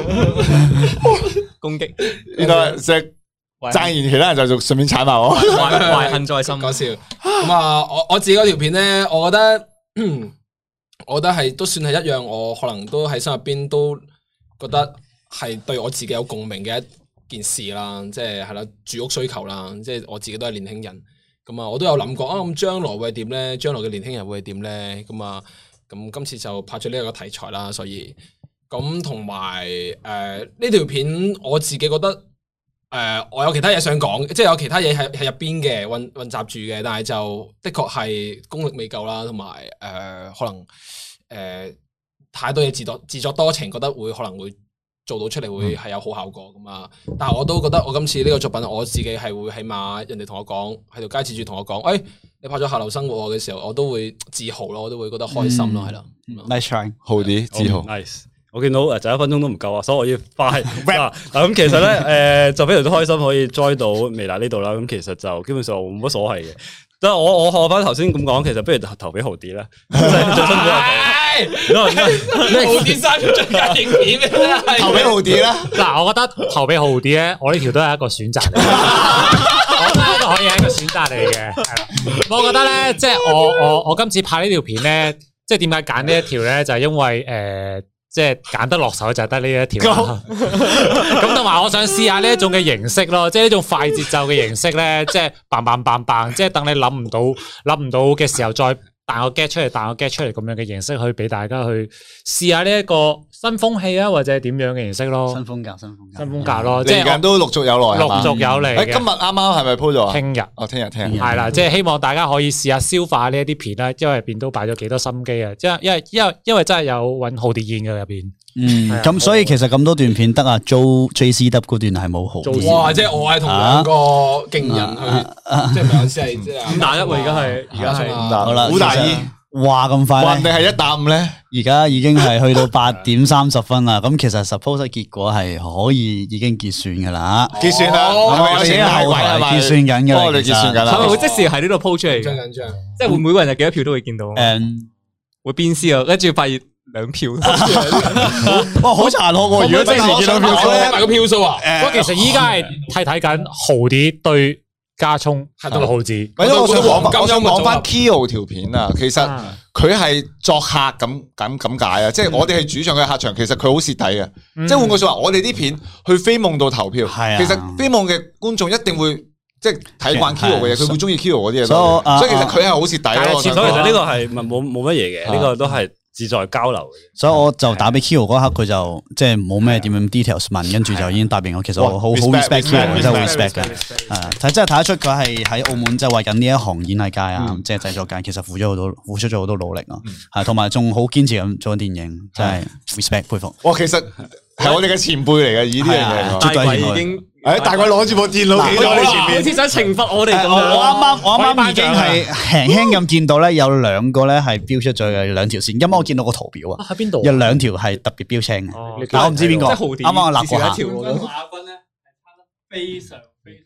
攻擊， 原來即係讚完其他人就順便踩埋我， 懷恨在心。 講笑。咁啊，我我自己嗰條片咧，我覺得。我覺得係都算係一樣，我可能都喺心入邊都覺得係對我自己有共鳴嘅一件事啦，即係係啦，住屋需求啦，即係我自己都係年輕人，咁啊，我都有諗過啊，咁將來會係點咧？將來嘅年輕人會係點咧？咁啊，咁今次就拍咗呢一個題材啦，所以咁同埋誒呢條片我自己覺得誒、呃、我有其他嘢想講，即係有其他嘢喺喺入邊嘅混混雜住嘅，但係就的確係功力未夠啦，同埋誒可能誒、呃、太多嘢自作自作多情，覺得會可能會做到出嚟會係有好效果咁啊！但係我都覺得我今次呢個作品，我自己係會起碼人哋同我講喺條街接住同我講，誒、哎、你拍咗下流生活嘅時候，我都會自豪咯，我都會覺得開心咯，係啦。 Nice try， 豪啲自豪。 Nice。我見到誒就一分鐘都唔夠啊，所以我要快。嗱咁其實咧誒就非常之開心可以 join 到微辣呢度啦。咁其實就基本上冇乜所謂嘅。即係我我學翻頭先咁講，其實不如投俾豪迪啦，即係最辛苦係豪迪三最佳影片咩？ 投俾豪迪啦。 嗱，我覺得投俾豪迪咧，我呢條都係一個選擇嚟嘅，我覺得呢個可以係一個選擇嚟嘅。係啦，我覺得咧，即係我我我今次拍呢條片咧，即係點解揀呢一條咧？就係因為誒。即係揀得落手就係得呢一條，咁同埋我想試下呢一種嘅形式咯，即係呢種快節奏嘅形式咧，即係嘭嘭嘭嘭，即係等你諗唔到諗唔到嘅時候再彈個 get 出嚟，彈個 get 出嚟咁樣嘅形式去俾大家去試下呢一個新風氣啊，或者係點樣嘅形式咯， 新風格，新風格， 新風格咯，即係嚟緊都陸續有來， 陸續有嚟嘅。 今日啱啱係咪 po 咗啊？ 聽日， 哦，聽日聽日， 係啦，即係希望大家可以試下消化呢一啲片啦，因為入邊都擺咗幾多心機啊，因為因為因為因為真係有揾豪迪演嘅入邊。 嗯，咁所以其實咁多段片得啊 Jo J C W 嗰段係冇好。 哇！即係我係同兩個勁人去，即係唔係意思係即係五打一喎，而家係而家係五打好啦， 好大意。 話咁快話定係一打五咧？ 而家已經係去到八點三十分啦。咁其實 suppose 結果係可以已經結算噶啦， 結算啦， 我哋已經後台結算緊嘅啦， 我哋結算緊啦。 係咪會即時喺呢度 po 出嚟？ 緊張緊張， 即係會每個人有幾多票都會見到。 誒， 會鞭屍啊，跟住發現兩票。 哇，好殘酷喎！如果即時見到票數， 睇埋個票數啊！ 不過其實依家係睇睇緊豪迪對加聰六毫子。 因為我想講，我想講翻 Kyo 條片啊，其實佢係作客咁咁咁解啊，即係我哋係主場嘅客場，其實佢好蝕底嘅。即係換句說話，我哋啲片去飛夢度投票，其實飛夢嘅觀眾一定會即係睇慣 Kyo 嘅嘢，佢會中意 Kyo 嗰啲嘢。所以其實佢係好蝕底咯。 所以其實呢個係冇冇乜嘢嘅，呢個都係志在交流嘅。 所以我就打俾 Kyo 嗰刻，佢就即係冇咩點樣 details 問，跟住就已經答應我。其實我好好 respect Kyo，真係 respect 嘅。係睇真係睇得出佢係喺澳門即係為緊呢一行演藝界啊，即係製作界，其實付咗好多付出咗好多努力啊。係同埋仲好堅持咁做緊電影，真係 respect 佩服。 哇，其實係我哋嘅前輩嚟嘅，呢啲嘢絕對係已經。 誒，大概攞住部電腦企咗喺你前面， 好似想懲罰我哋咁樣。 我啱啱我啱啱已經係輕輕咁見到咧，有兩個咧係標出咗嘅兩條線。因為我見到個圖表啊， 喺邊度？ 有兩條係特別標青嘅，但我唔知邊個。啱啱我立過下。 亞軍咧係差得非常非常之少。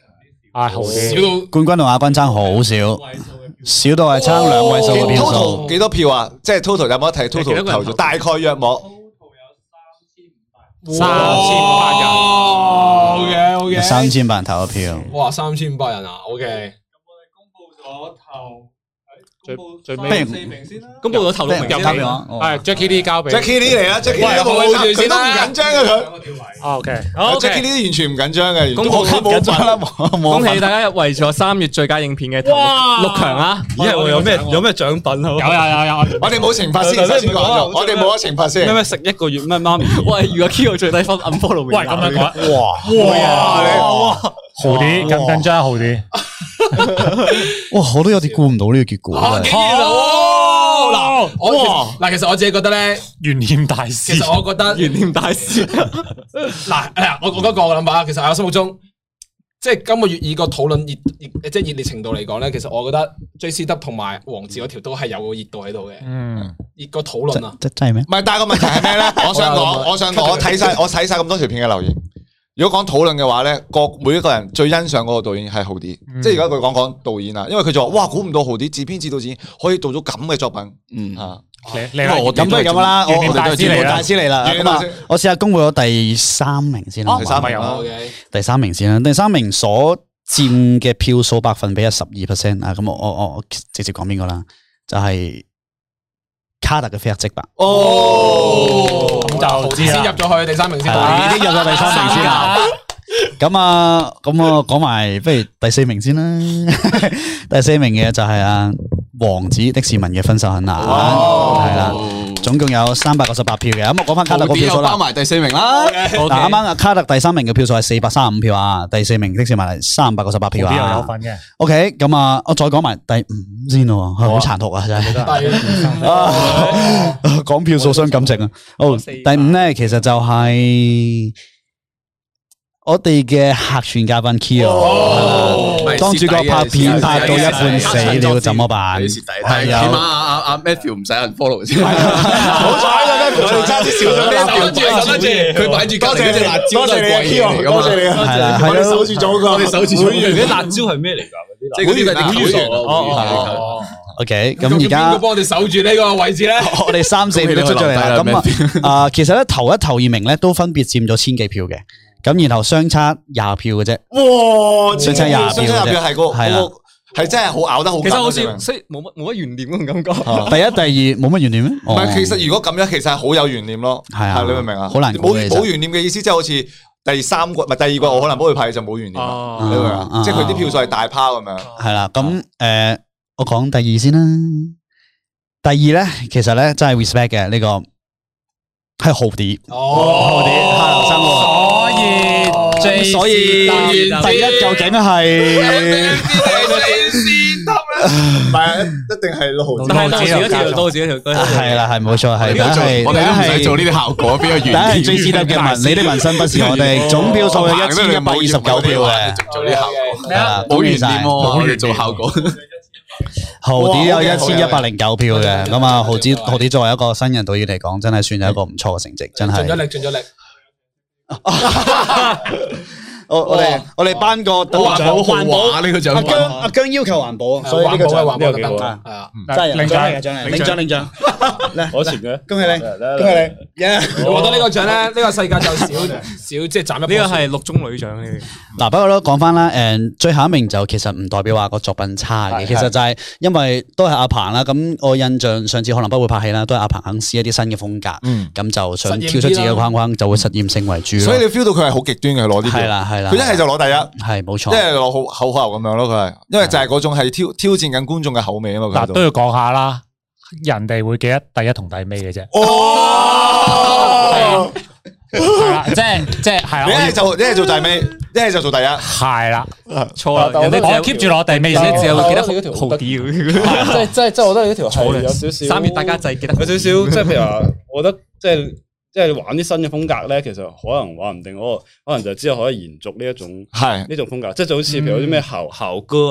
啊好啲， 少到冠軍同亞軍爭好少，少到係爭兩位數嘅票數。 total 幾多票啊？即係 total 有冇得睇 total 投咗？大概約莫三千五百人。 OK OK， 三千百人投咗票。 哇，三千五百人啊 ！OK， 咁我哋公布咗頭。 最最尾四名先啦，公布咗頭六名先交俾我。 係 Jackie Lee 交俾 Jackie Lee 嚟啦，Jackie Lee 都冇佢佢都唔緊張嘅佢。 OK， Jackie Lee 完全唔緊張嘅， 公布冇緊啦， 恭喜大家入圍咗三月最佳影片嘅六強啊！ 咦係有咩有咩獎品好？ 有有有有， 我哋冇懲罰先，首先講咗，我哋冇得懲罰先。 咩咩食一個月咩媽咪？ 喂，如果 Kyo 最低分 unfollow 喂咁樣講，哇哇！ 豪啲緊唔緊張？豪啲， 哇！我都有啲估唔到呢個結果。 竟然嗱，我嗱，其實我自己覺得咧， 懸念大師。 其實我覺得懸念大師。 嗱，我我嗰個諗法，其實喺我心目中，即係今個月以個討論熱熱即係熱烈程度嚟講咧，其實我覺得 J C W 同埋黃梓嗰條都係有個熱度喺度嘅。嗯，熱個討論啊， 真真係咩？ 唔係，但係個問題係咩咧？我想講，我想講，我睇晒我睇晒咁多條片嘅留言。如果講討論嘅話咧，各每一個人最欣賞嗰個導演係豪啲，嗯、即係而家佢講講導演啊，因為佢就話：哇，估唔到豪啲自編自導自演可以做到咁嘅作品，嗯啊， 你我咁都係咁啦，我我大師嚟啦，大師嚟啦，咁啊，我試下公布咗第三名先啦， 第三名啊， 第三名先啦，第三名所佔嘅票數百分比係十二 percent 啊，咁我我我直接講邊個啦，就係、是。卡特嘅飛黑即白哦，咁就先入咗去第三名先， 已經入咗第三名先啦。咁啊，咁我講埋，不如第四名先啦。第四名嘅就係阿王子的士文嘅分手很難，係啦，總共有三百九十八票嘅。咁我講翻卡特個票數啦， 包埋第四名啦。 嗱，啱啱阿卡特第三名嘅票數係四百三十五票啊，第四名的士文係三百九十八票啊。 有份嘅。 OK，咁啊，我再講埋第五先咯，好殘酷啊，真係。講票數傷感情啊。好，第五咧，其實就係。我哋嘅客串嘉賓 Kyo，當主角拍片拍到一半死了，怎麼辦？ 係啊，起碼阿阿阿 Matthew 唔使人 follow 先。 好彩啦，Matthew，我哋差啲少咗啲守住，守住，佢擺住，多謝隻辣椒， 多謝你啊 Kyo，多謝你啊，係啦，係啦，守住咗個，我哋守住咗。 啲辣椒係咩嚟㗎？ 即係嗰啲係會員哦。 OK，咁而家邊個幫我哋守住呢個位置咧？ 我哋三四票都出咗嚟啦。咁啊，啊，其實咧頭一頭二名咧都分別佔咗千幾票嘅。咁然後相差廿票嘅啫， 哇！ 相差廿票， 相差廿票係個係啦， 係真係好咬得好。 其實好似即係冇乜冇乜懸念嗰種感覺。 第一、第二冇乜懸念咩？ 唔係，其實如果咁樣，其實係好有懸念咯。 係啊， 你明唔明啊？ 好難冇冇懸念嘅意思，即係好似第三個唔係第二個，我可能幫佢派就冇懸念啦。你明唔明啊？即係佢啲票數係大拋咁樣。 係啦，咁誒，我講第二先啦。第二咧，其實咧真係 respect 嘅呢個係豪啲，豪啲下流生活。咁所以第一究竟係唔係一定係豪啲， 但係多自己條，多自己條， 係啦，係冇錯，係。但係我哋都唔使做呢啲效果，邊個原？ 但係最值得嘅紋，你的紋身不是我哋總票數係一千一百二十九票嘅， 做啲效果， 冇懸念喎，我哋做效果。 豪啲有一千一百零九票嘅，咁啊，豪啲豪啲作為一個新人導演嚟講，真係算係一個唔錯嘅成績，真係。 盡咗力，盡咗力。 我我哋我哋頒個環保環保呢個獎，阿姜阿姜要求環保，所以呢個獎環保得係啊，真係領獎嚟嘅獎嚟，領獎領獎， 攞錢嘅， 恭喜你，恭喜你， 我覺得呢個獎咧，呢個世界就少少即係斬一， 呢個係六中女獎呢。 嗱，不過都講翻啦，誒，最後一名就其實唔代表話個作品差嘅，其實就係因為都係阿鵬啦，咁我印象上次可能不會拍戲啦，都係阿鵬肯試一啲新嘅風格，咁就想跳出自己嘅框框，就會實驗性為主。 所以你 feel 到佢係好極端嘅，攞啲票。 係啦係啦， 佢一係就攞第一， 係冇錯， 即係攞好口口咁樣咯。佢係因為就係嗰種係挑挑戰緊觀眾嘅口味啊嘛。 嗱，都要講下啦，人哋會記得第一同第尾嘅啫。 哦， 係啦，即係即係係啦。 你一係就一係做第尾，一係就做第一。 係啦， 錯啦，人哋我 keep 住攞第尾先， 只係會記得好啲。 即係即係即係，我覺得呢條係有少少三月大家就記得有少少，即係譬如話，我覺得即係。即係玩啲新嘅風格咧，其實可能話唔定嗰個，可能就之後可以延續呢一種係呢種風格，即係就好似譬如啲咩校校歌啊，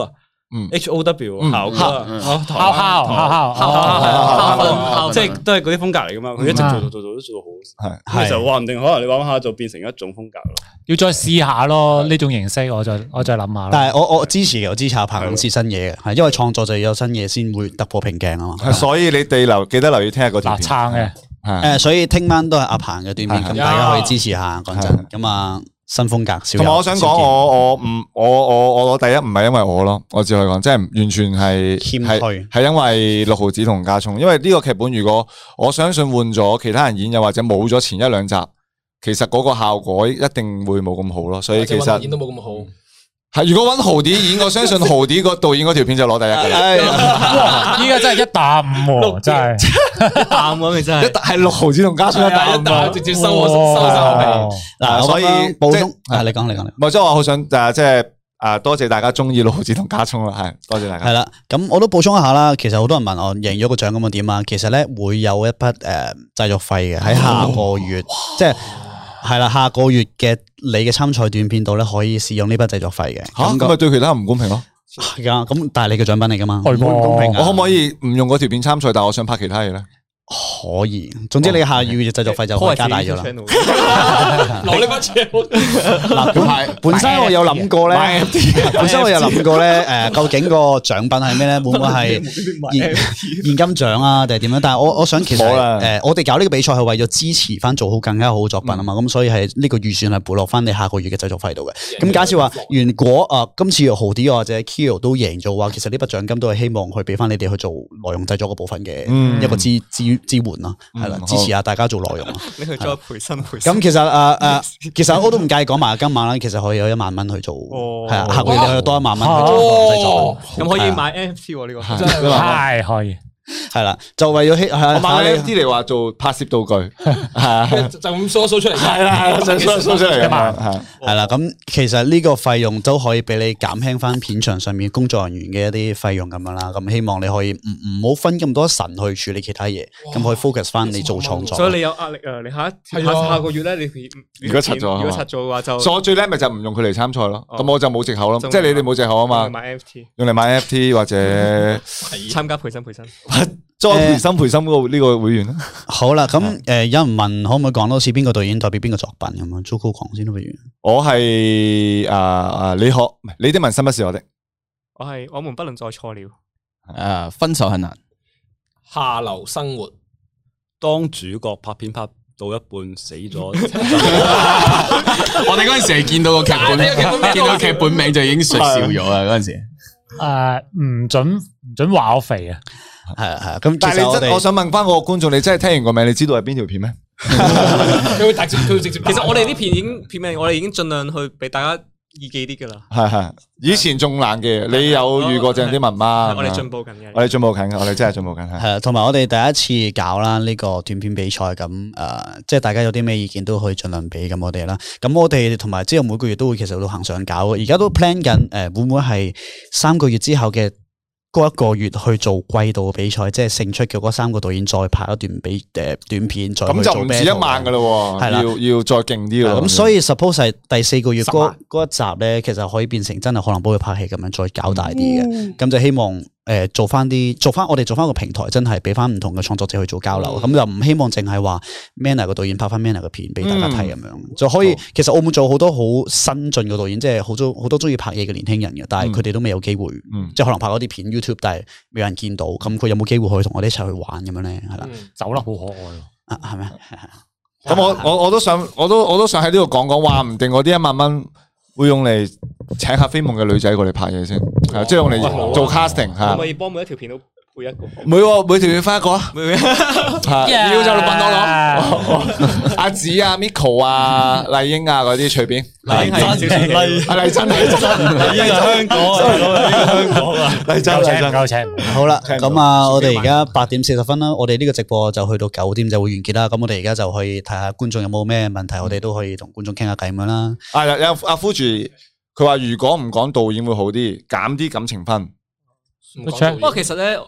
H O W 校歌， 校校校校， 即係都係嗰啲風格嚟噶嘛。佢一直做做做做都做到好，係就話唔定可能你玩下就變成一種風格咯。 要再試下咯，呢種形式我再我再諗下。 但係我我支持嘅，我支持阿鵬試新嘢嘅，係因為創作就要有新嘢先會突破瓶頸啊嘛。 所以你哋留記得留意聽日嗰條片撐嘅。 誒，所以聽晚都係阿鵬嘅短片，咁大家可以支持下。講真，咁啊。新風格， 同埋我想講，我我唔我我我我第一唔係因為我咯，我只可以講，即係完全係係係因為六毫子同家聰，因為呢個劇本如果我相信換咗其他人演，又或者冇咗前一兩集，其實嗰個效果一定會冇咁好咯，所以其實演都冇咁好。 係如果揾豪啲演，我相信豪啲個導演嗰條片就攞第一嘅啦。 依家真係一打五，真係一打五咪真係， 係六毫子同加上一打五， 直接收我收晒我皮。 嗱， 所以補充啊，你講你講你。 唔係即係我好想誒，即係誒，多謝大家中意六毫子同加聰啦，係多謝大家。 係啦，咁我都補充一下啦。其實好多人問我贏咗個獎咁啊點啊？其實咧會有一筆誒製作費嘅喺下個月，即係。係啦，下個月嘅你嘅參賽短片度咧，可以使用呢筆製作費嘅。 吓咁咪對其他人唔公平咯？ 係啊，咁但係你嘅獎品嚟噶嘛？ 唔公平。 我可唔可以唔用嗰條片參賽，但係我想拍其他嘢咧？ 可以，總之你下個月嘅製作費就可以加大咗啦。 攞呢筆錢。 嗱，咁本身我有諗過咧，本身我有諗過咧，誒，究竟個獎品係咩咧？會唔會係現現金獎啊，定係點樣？但係我我想其實誒，我哋搞呢個比賽係為咗支持翻做好更加好嘅作品啊嘛，咁所以係呢個預算係撥落翻你下個月嘅製作費度嘅。咁假設話，如果啊今次豪啲或者 Kyo 都贏咗嘅話，其實呢筆獎金都係希望去俾翻你哋去做內容製作嗰部分嘅一個資資。支援咯，係啦，支持下大家做內容。 你去再培新培新。 咁其實誒誒，其實我都唔介意講埋今晚啦。其實可以有一萬蚊去做，係啊，下個月你可以多一萬蚊去做製作。 咁可以買 N F T 喎呢個， 真係係可以。 係啦，就為咗我買 N F T 嚟話做拍攝道具，係就咁 show show 出嚟， 係啦係啦，就 show show 出嚟啊嘛， 係啦。咁其實呢個費用都可以俾你減輕翻片場上面工作人員嘅一啲費用咁樣啦。咁希望你可以唔唔好分咁多神去處理其他嘢，咁可以 focus 翻你做創作。 所以你有壓力啊！你下一下下個月咧，你如果拆咗， 如果拆咗嘅話就， 所以我最叻咪就唔用佢嚟參賽咯。咁我就冇藉口咯，即係你哋冇藉口啊嘛。 買 N F T， 用嚟買 N F T 或者參加培新培新。 再培新培新嗰個呢個會員啦。 好啦，咁誒有人問可唔可以講多次邊個導演代表邊個作品咁樣？Jojo 講先都不如。 我係誒誒，你可唔係你的紋身不是我的。 我係我們不能再錯了。 誒，分手很難。 下流生活。 當主角拍片拍到一半死咗。 我哋嗰陣時係見到個劇本，見到劇本名就已經笑咗啦。嗰陣時。 誒，唔准唔准話我肥啊！ 係啊係啊，咁但係你真，我想問翻嗰個觀眾，你真係聽完個名，你知道係邊條片咩？ 佢會直接，佢會直接。 其實我哋啲片已經片名，我哋已經盡量去俾大家易記啲噶啦。 係係，以前仲難嘅，你有遇過鄭啲文嗎？ 我哋進步緊嘅， 我哋進步緊嘅，我哋真係進步緊。 係啊，同埋我哋第一次搞啦呢個短片比賽，咁誒，即係大家有啲咩意見都可以盡量俾咁我哋啦。咁我哋同埋之後每個月都會其實都行上搞，而家都 plan 緊誒，會唔會係三個月之後嘅嗰一個月去做季度嘅比賽，即係勝出嘅嗰三個導演再拍一段比誒短片，再咁就唔止一萬噶咯，係啦，要要再勁啲咯。 咁所以 suppose 係第四個月嗰嗰一集咧，其實可以變成真係可能幫佢拍戲咁樣再搞大啲嘅。咁就希望誒做翻啲做翻我哋做翻個平台，真係俾翻唔同嘅創作者去做交流。咁就唔希望淨係話 Manner 個導演拍翻 Manner 嘅片俾大家睇咁樣，就可以。其實澳門做好多好新進嘅導演，即係好多好多中意拍嘢嘅年輕人嘅，但係佢哋都未有機會，即係可能拍嗰啲片 YouTube，但係未有人見到。咁佢有冇機會可以同我哋一齊去玩咁樣咧？係啦， 走得好可愛啊，係咩？ 咁我我我都想，我都我都想喺呢度講講，話唔定我啲一萬蚊會用嚟請下飛夢嘅女仔過嚟拍嘢先，係即係用嚟做 casting 吓。 可唔可以幫每一條片都配一個？ 每每條片分一個啊！要就揾我攞。阿紫啊、Miko 啊、麗英啊嗰啲隨便。 麗英係少少嘅。 阿麗珍，麗珍，麗英係香港啊，香港啊，麗珍，麗珍， 夠請。 好啦，咁啊，我哋而家八點四十分啦，我哋呢個直播就去到九點就會完結啦。咁我哋而家就可以睇下觀眾有冇咩問題，我哋都可以同觀眾傾下偈咁樣啦。 啊，有有阿夫住，佢話如果唔講導演會好啲，減啲感情分。 不過其實咧。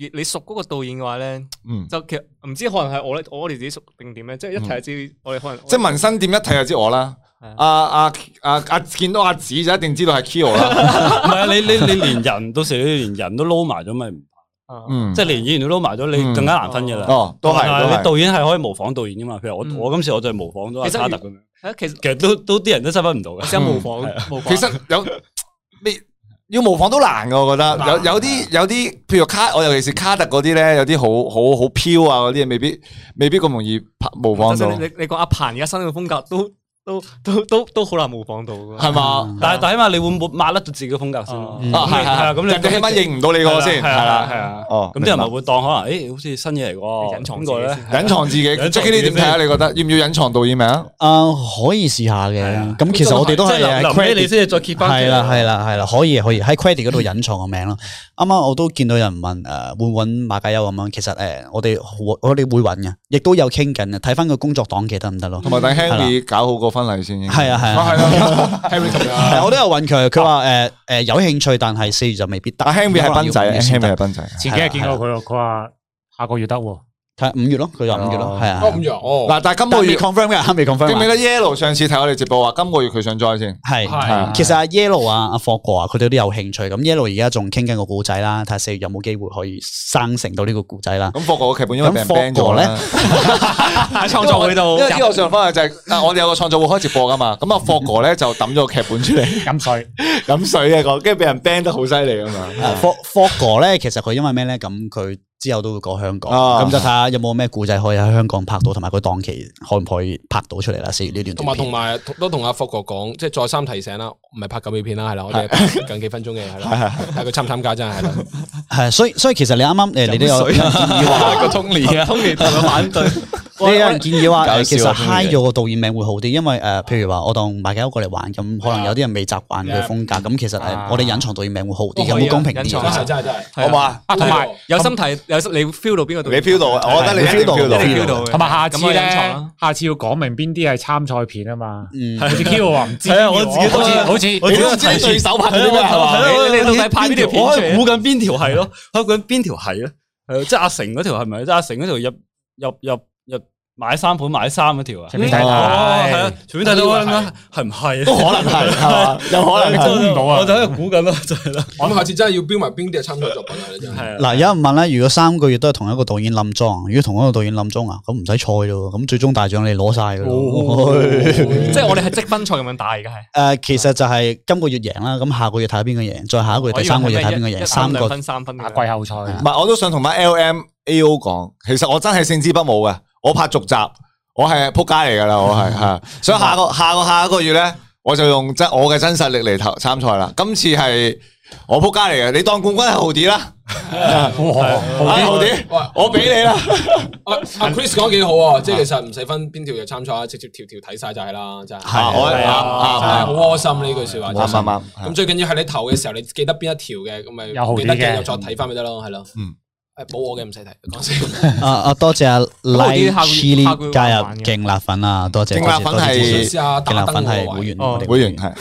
你熟嗰個導演嘅話咧，就其實唔知可能係我咧，我哋自己熟定點咧，即係一睇就知我哋可能。 即係紋身店一睇就知我啦。阿阿阿阿見到阿子就一定知道係 Kyo 啦。 唔係啊，你你你連人到時你連人都撈埋咗咪唔怕？嗯，即係連演員都撈埋咗，你更加難分嘅啦。哦，都係。你導演係可以模仿導演噶嘛？譬如我我今次我就係模仿咗阿卡特咁樣。其實其實都都啲人都識分唔到嘅。 想模仿， 其實有你。要模仿都難噶，我覺得有有啲有啲，譬如卡，我尤其是卡特嗰啲咧，有啲好好好飄啊嗰啲嘢，未必未必咁容易模仿到。 你你講阿彭而家新嘅風格都。都都都都好難模仿到， 係嘛？ 但係但係起碼你會抹抹甩咗自己嘅風格先。 啊係係，咁你起碼認唔到你嗰個先，係啦係啊。哦，咁啲人咪會當可能，誒，好似新嘢嚟喎。隱藏個咧，隱藏自己。Jackie 呢點睇啊？你覺得要唔要隱藏導演名啊？ 啊，可以試下嘅。咁其實我哋都係臨尾你先至再揭翻。 係啦係啦係啦，可以可以喺 credit 嗰度隱藏個名咯。啱啱我都見到有人問誒，會揾馬介休咁樣。其實誒，我哋我哋會揾嘅，亦都有傾緊嘅。睇翻個工作檔期得唔得咯？ 同埋等 Henry 搞好個婚禮先。 係啊係啊，Henry 同樣，我都有問佢，佢話誒誒有興趣，但係四月就未必得。 但 Henry 係斌仔 ，Henry 係斌仔。 前幾日見過佢咯，佢話下個月得喎。 睇五月咯，佢話五月咯，係啊。 五月哦。 嗱，但係今個月 confirm 嘅，未 confirm。 記唔記得 Yellow 上次睇我哋直播話，今個月佢想 join 先。 係係。其實阿 Yellow 啊、阿霍哥啊，佢哋都有興趣。咁 Yellow 而家仲傾緊個故仔啦，睇下四月有冇機會可以生成到呢個故仔啦。 咁霍哥個劇本因為俾人 ban 咗咧， 喺創作會度。 因為呢個上方就係啊，我哋有個創作會開直播噶嘛。咁啊，霍哥咧就抌咗個劇本出嚟， 飲水飲水嘅個，跟住俾人 ban 得好犀利噶嘛。 霍霍哥咧，其實佢因為咩咧？咁佢。之後都會過香港，咁就睇下有冇咩故仔可以喺香港拍到，同埋個檔期可唔可以拍到出嚟啦？四月呢段。 同埋同埋都同阿霍哥講，即係再三提醒啦，唔係拍九秒片啦，係啦，我哋拍近幾分鐘嘅係啦，睇佢參唔參加真係係啦。 係，所以所以其實你啱啱誒，你都有建議話個 Tony 啊，Tony 同佢反對。 你有人建議話，其實 high 咗個導演名會好啲，因為誒，譬如話我當馬介休過嚟玩，咁可能有啲人未習慣佢風格，咁其實誒，我哋隱藏導演名會好啲，有冇公平啲？ 真係真係真係， 好嘛？ 同埋有心睇，有你 feel 到邊個導演？ 你 feel 到啊？我覺得你 feel 到， 你 feel 到。 同埋下次咧，下次要講明邊啲係參賽片啊嘛。好似 Kyo 話唔知， 我自己好似好似你都知對手拍啲咩係嘛？ 你到底拍邊條片？ 我係估緊邊條係咯，我估緊邊條係咧？係即係阿成嗰條係咪？即係阿成嗰條入入入入。買三盤買三嗰條啊， 隨便睇睇， 係啊，隨便睇到啦，係唔係？ 都可能係，係嘛？有可能估唔到啊！ 我就喺度估緊咯，就係啦。 咁下次真係要標埋邊啲係參賽作品啊！真係。 嗱，有人問咧，如果三個月都係同一個導演冧莊，如果同一個導演冧莊啊，咁唔使賽咯，咁最終大獎你攞晒噶咯。 即係我哋係積分賽咁樣打，而家係。誒，其實就係今個月贏啦，咁下個月睇下邊個贏，再下一個月第三個月睇邊個贏，三個分三分打季後賽。 唔係，我都想同埋 L M A O 講，其實我真係勝之不武嘅，我拍續集。我係撲街嚟噶啦，我係係，所以下個下個下一個月咧，我就用真我嘅真實力嚟投參賽啦。今次係我撲街嚟嘅，你當冠軍係豪啲啦，豪啲，我俾你啦。 阿阿 Chris 講得幾好啊，即係其實唔使分邊條嘅參賽，直接條條睇晒就係啦，真係。係我係啊，真係好窩心呢句說話。 啱啱啱。 咁最緊要係你投嘅時候，你記得邊一條嘅，咁咪記得嘅又再睇翻咪得咯，係咯。嗯。誒，冇我嘅唔使睇，講先。 啊啊，多謝阿 Light Chili 加入勁辣粉啊，多謝。 勁辣粉係勁辣粉係會員， 會員係。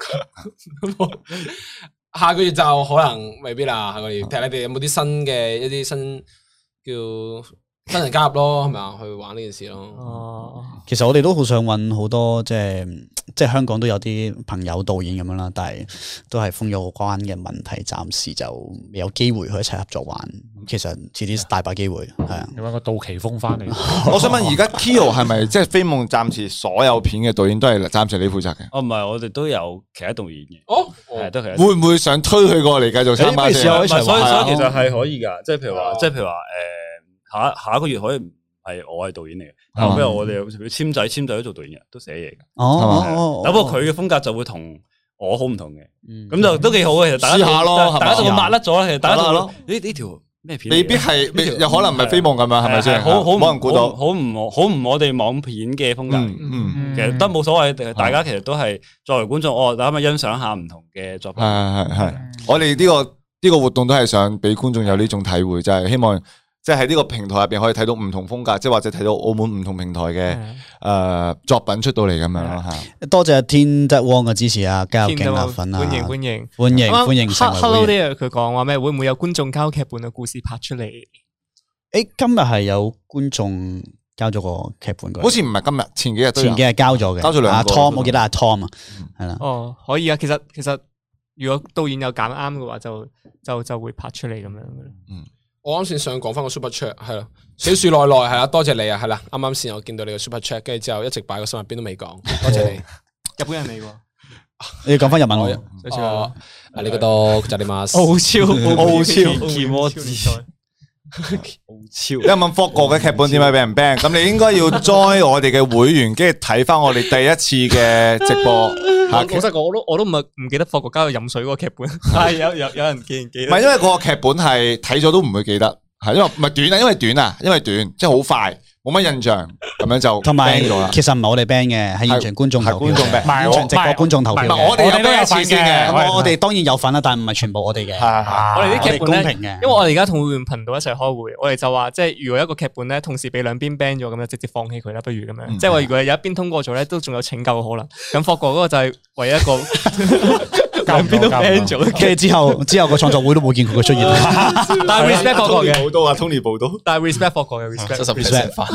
下個月就可能未必啦，下個月睇下你哋有冇啲新嘅一啲新叫新人加入咯，係咪啊？去玩呢件事咯。 哦，其實我哋都好想揾好多即係即係香港都有啲朋友導演咁樣啦，但係都係封咗個關嘅問題，暫時就未有機會去一齊合作玩。其實遲啲大把機會，係啊。 你揾個杜琪峰翻嚟。 我想問而家 Kyo 係咪即係飛夢暫時所有片嘅導演都係暫時你負責嘅？ 哦，唔係，我哋都有其他導演嘅。 哦， 係都係。 會唔會想推佢過嚟繼續參加？ 所以所以其實係可以噶，即係譬如話，即係譬如話，誒。下下一個月可以唔係我係導演嚟嘅，後邊我哋簽仔簽仔都做導演嘅，都寫嘢嘅。 哦， 不過佢嘅風格就會同我好唔同嘅，咁就都幾好嘅。其實大家試下咯， 大家就會抹甩咗。其實大家就咯，呢呢條咩片？未必係，有可能唔係飛夢咁樣，係咪先？ 好好冇人估到， 好唔好唔我哋網片嘅風格。嗯，其實都冇所謂，大家其實都係作為觀眾，我大家咪欣賞下唔同嘅作品。 係係係，我哋呢個呢個活動都係想俾觀眾有呢種體會，就係希望。 即係喺呢個平台入邊可以睇到唔同風格，即係或者睇到澳門唔同平台嘅誒作品出到嚟咁樣咯吓。 多謝天德汪嘅支持啊，加入勁辣粉啊！ 歡迎歡迎歡迎歡迎 Hello there， 佢講話咩？會唔會有觀眾交劇本嘅故事拍出嚟？ 誒，今日係有觀眾交咗個劇本過嚟， 好似唔係今日，前幾日都有前幾日交咗嘅， 交咗兩個。 阿 Tom， 我記得阿 Tom 啊，係啦。 哦，可以啊，其實其實如果導演有揀啱嘅話，就就就會拍出嚟咁樣嘅。 嗯。我啱先想講翻個 super chat 係啦，小樹內內係啦，多謝你啊，係啦，啱啱先我見到你個 super chat，跟住之後一直擺個心入邊都未講，多謝你。 日本人嚟喎， 你要講翻日文喎。 哦，啊你嗰度就你嘛？ 澳超澳超奇摩子， 澳超。有人問霍哥嘅劇本點解俾人 ban？ 咁你應該要 join 我哋嘅會員，跟住睇翻我哋第一次嘅直播。 老實講，我都我都唔係唔記得霍國家去飲水嗰個劇本，係有有有人記唔記得？ 唔係因為嗰個劇本係睇咗都唔會記得，係因為唔係短啊，因為短啊，因為短，即係好快，冇乜印象，咁樣就同埋其實唔係我哋 ban 嘅，係現場觀眾投票，現場直播觀眾投票。 我哋我哋都有份嘅， 我我哋當然有份啦，但係唔係全部我哋嘅。 我哋啲劇本公平嘅， 因為我哋而家同會員頻道一齊開會，我哋就話即係如果一個劇本咧同時俾兩邊 ban 咗，咁就直接放棄佢啦，不如咁樣。即係話如果有一邊通過咗咧，都仲有拯救嘅可能。咁霍國嗰個就係唯一一個。兩邊都 ban 咗， 跟住之後之後個創作會都冇見佢嘅出現。 但係 respect 霍國嘅， 報道啊 Tony 報道， 但係 respect 霍國嘅 respect， 七十 percent 翻，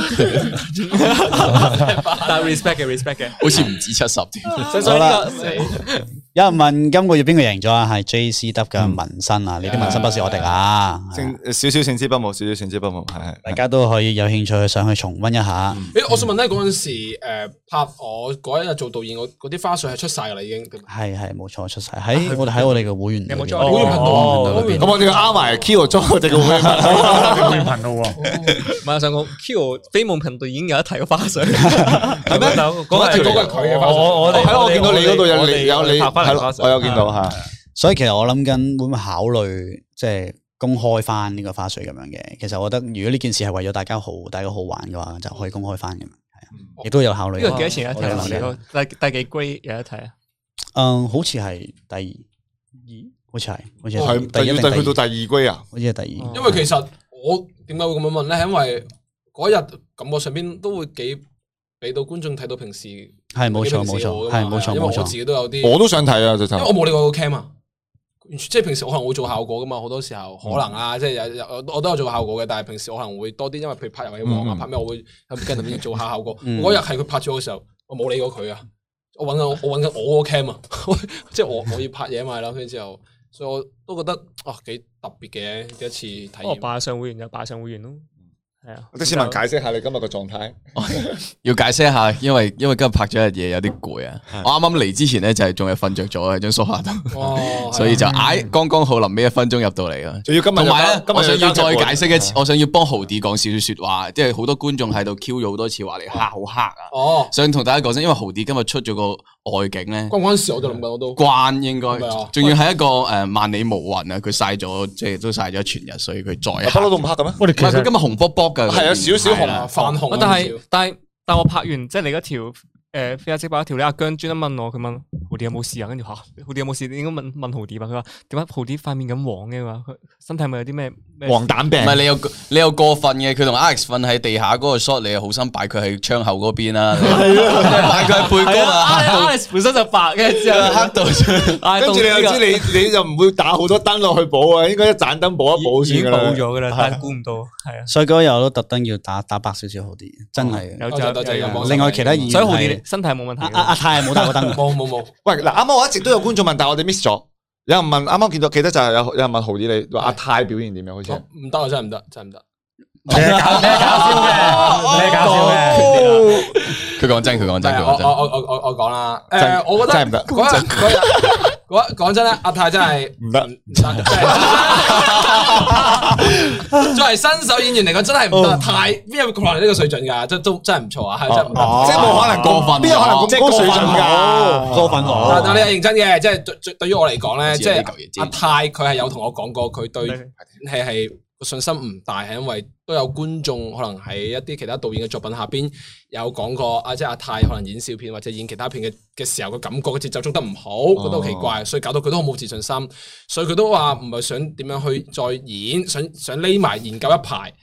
但係 respect 嘅 respect 嘅， 好似唔止七十添。 好啦， 有人問今個月邊個贏咗啊？係 J C W 嘅紋身啊！你啲紋身不是我哋啊， 少少勝之不武，少少勝之不武，係大家都可以有興趣上去重溫一下。 誒，我想問咧，嗰陣時誒拍我嗰一日做導演，我嗰啲花絮係出晒噶啦，已經係係冇錯出晒喺我哋喺我哋嘅會員， 有冇會員頻道裏邊？ 咁我哋要啱埋 Kyo 裝我哋嘅會員頻道， 會員頻道喎。 唔係，我想講 Kyo 飛夢頻道已經有一提個花絮， 係咩？嗰個係佢嘅花絮。我我係咯，我見到你嗰度有你有你係咯，我有見到吓。 所以其實我諗緊會唔會考慮即係公開翻呢個花絮咁樣嘅？其實我覺得如果呢件事係為咗大家好，大家好玩嘅話，就可以公開翻咁樣。係啊，亦都有考慮。 呢個幾多錢一題？第第幾 grade 有一題啊？ 嗯，好似係第二，好似係，好似係第一定去到第二歸啊？ 好似係第二。 因為其實我點解會咁樣問咧？係因為嗰日感覺上邊都會幾俾到觀眾睇到平時係冇錯冇錯，係冇錯冇錯。 因為我自己都有啲， 我都想睇啊！就因為我冇理過個 cam 啊，即係平時我可能會做效果噶嘛，好多時候可能啊，即係有有我都有做效果嘅，但係平時我可能會多啲，因為譬如拍遊戲王啊，拍咩我會喺跟入邊做下效果。嗰日係佢拍咗嘅時候，我冇理過佢啊。我揾緊我揾緊我個 cam 啊，即係我我要拍嘢嘛，跟住之後，所以我都覺得啊幾特別嘅一次體驗。 哦，擺上會員就擺上會員咯，係啊。 的士文解釋下你今日個狀態。 要解釋一下，因為因為今日拍咗一日嘢，有啲攰啊。我啱啱嚟之前咧就係仲係瞓着咗喺張梳化度，所以就唉剛剛好臨尾一分鐘入到嚟啊。 仲要今日同埋咧，我想要再解釋一次，我想要幫豪啲講少少說話，即係好多觀眾喺度 Q 咗好多次話你黑好黑啊。哦，想同大家講聲，因為豪啲今日出咗個外景咧， 關唔關事？我就諗緊我都關應該，仲要係一個誒萬里無雲啊！佢曬咗即係都曬咗全日，所以佢再不嬲都唔黑嘅咩？ 唔係佢今日紅卜卜噶， 係有少少紅泛紅。 但係但係但我拍完即係你嗰條。誒，飛下即拍一條咧，阿姜專登問我，佢問豪啲有冇事啊？跟住吓，豪啲有冇事？你應該問問豪啲吧。佢話點解豪啲塊面咁黃嘅？話佢身體咪有啲咩黃疸病？唔係你有你有過分嘅，佢同 Alex 瞓喺地下嗰個 shot，你又好心擺佢喺窗口嗰邊啦，擺佢喺背光啊。 Alex 本身就白嘅，之後黑到， 跟住你又知你你就唔會打好多燈落去補啊，應該一盞燈補一補先噶啦。 已經補咗噶啦，但係估唔到，係啊。 所以嗰日我都特登要打打白少少好啲，真係。 有就多謝。 另外其他演員所以豪啲身體冇問題。 阿阿泰係冇打過燈， 冇冇冇。 喂，嗱，啱啱我一直都有觀眾問，但係我哋 miss 咗。有人問，啱啱見到記得就係有有人問豪啲你話阿泰表現點樣？好似唔得啊，真係唔得，真係唔得。 你係搞你係搞笑嘅，你係搞笑嘅。 佢講真，佢講真，佢講真。 我我我我我講啦。誒，我覺得真係唔得。 嗰日嗰日嗰講真咧，阿泰真係唔得， 唔得。作為新手演員嚟講，真係唔得。太邊有過嚟呢個水準㗎？真都真係唔錯啊，係真唔得。 即係冇可能過分，邊有可能咁高水準㗎？ 過分我。 但但你係認真嘅，即係對對於我嚟講咧，即係阿泰佢係有同我講過，佢對係係。信心唔大，係因為都有觀眾可能喺一啲其他導演嘅作品下邊有講過，啊，即係阿泰可能演笑片或者演其他片嘅嘅時候，個感覺嘅節奏捉得唔好，覺得好奇怪，所以搞到佢都好冇自信心，所以佢都話唔係想點樣去再演，想想匿埋研究一排，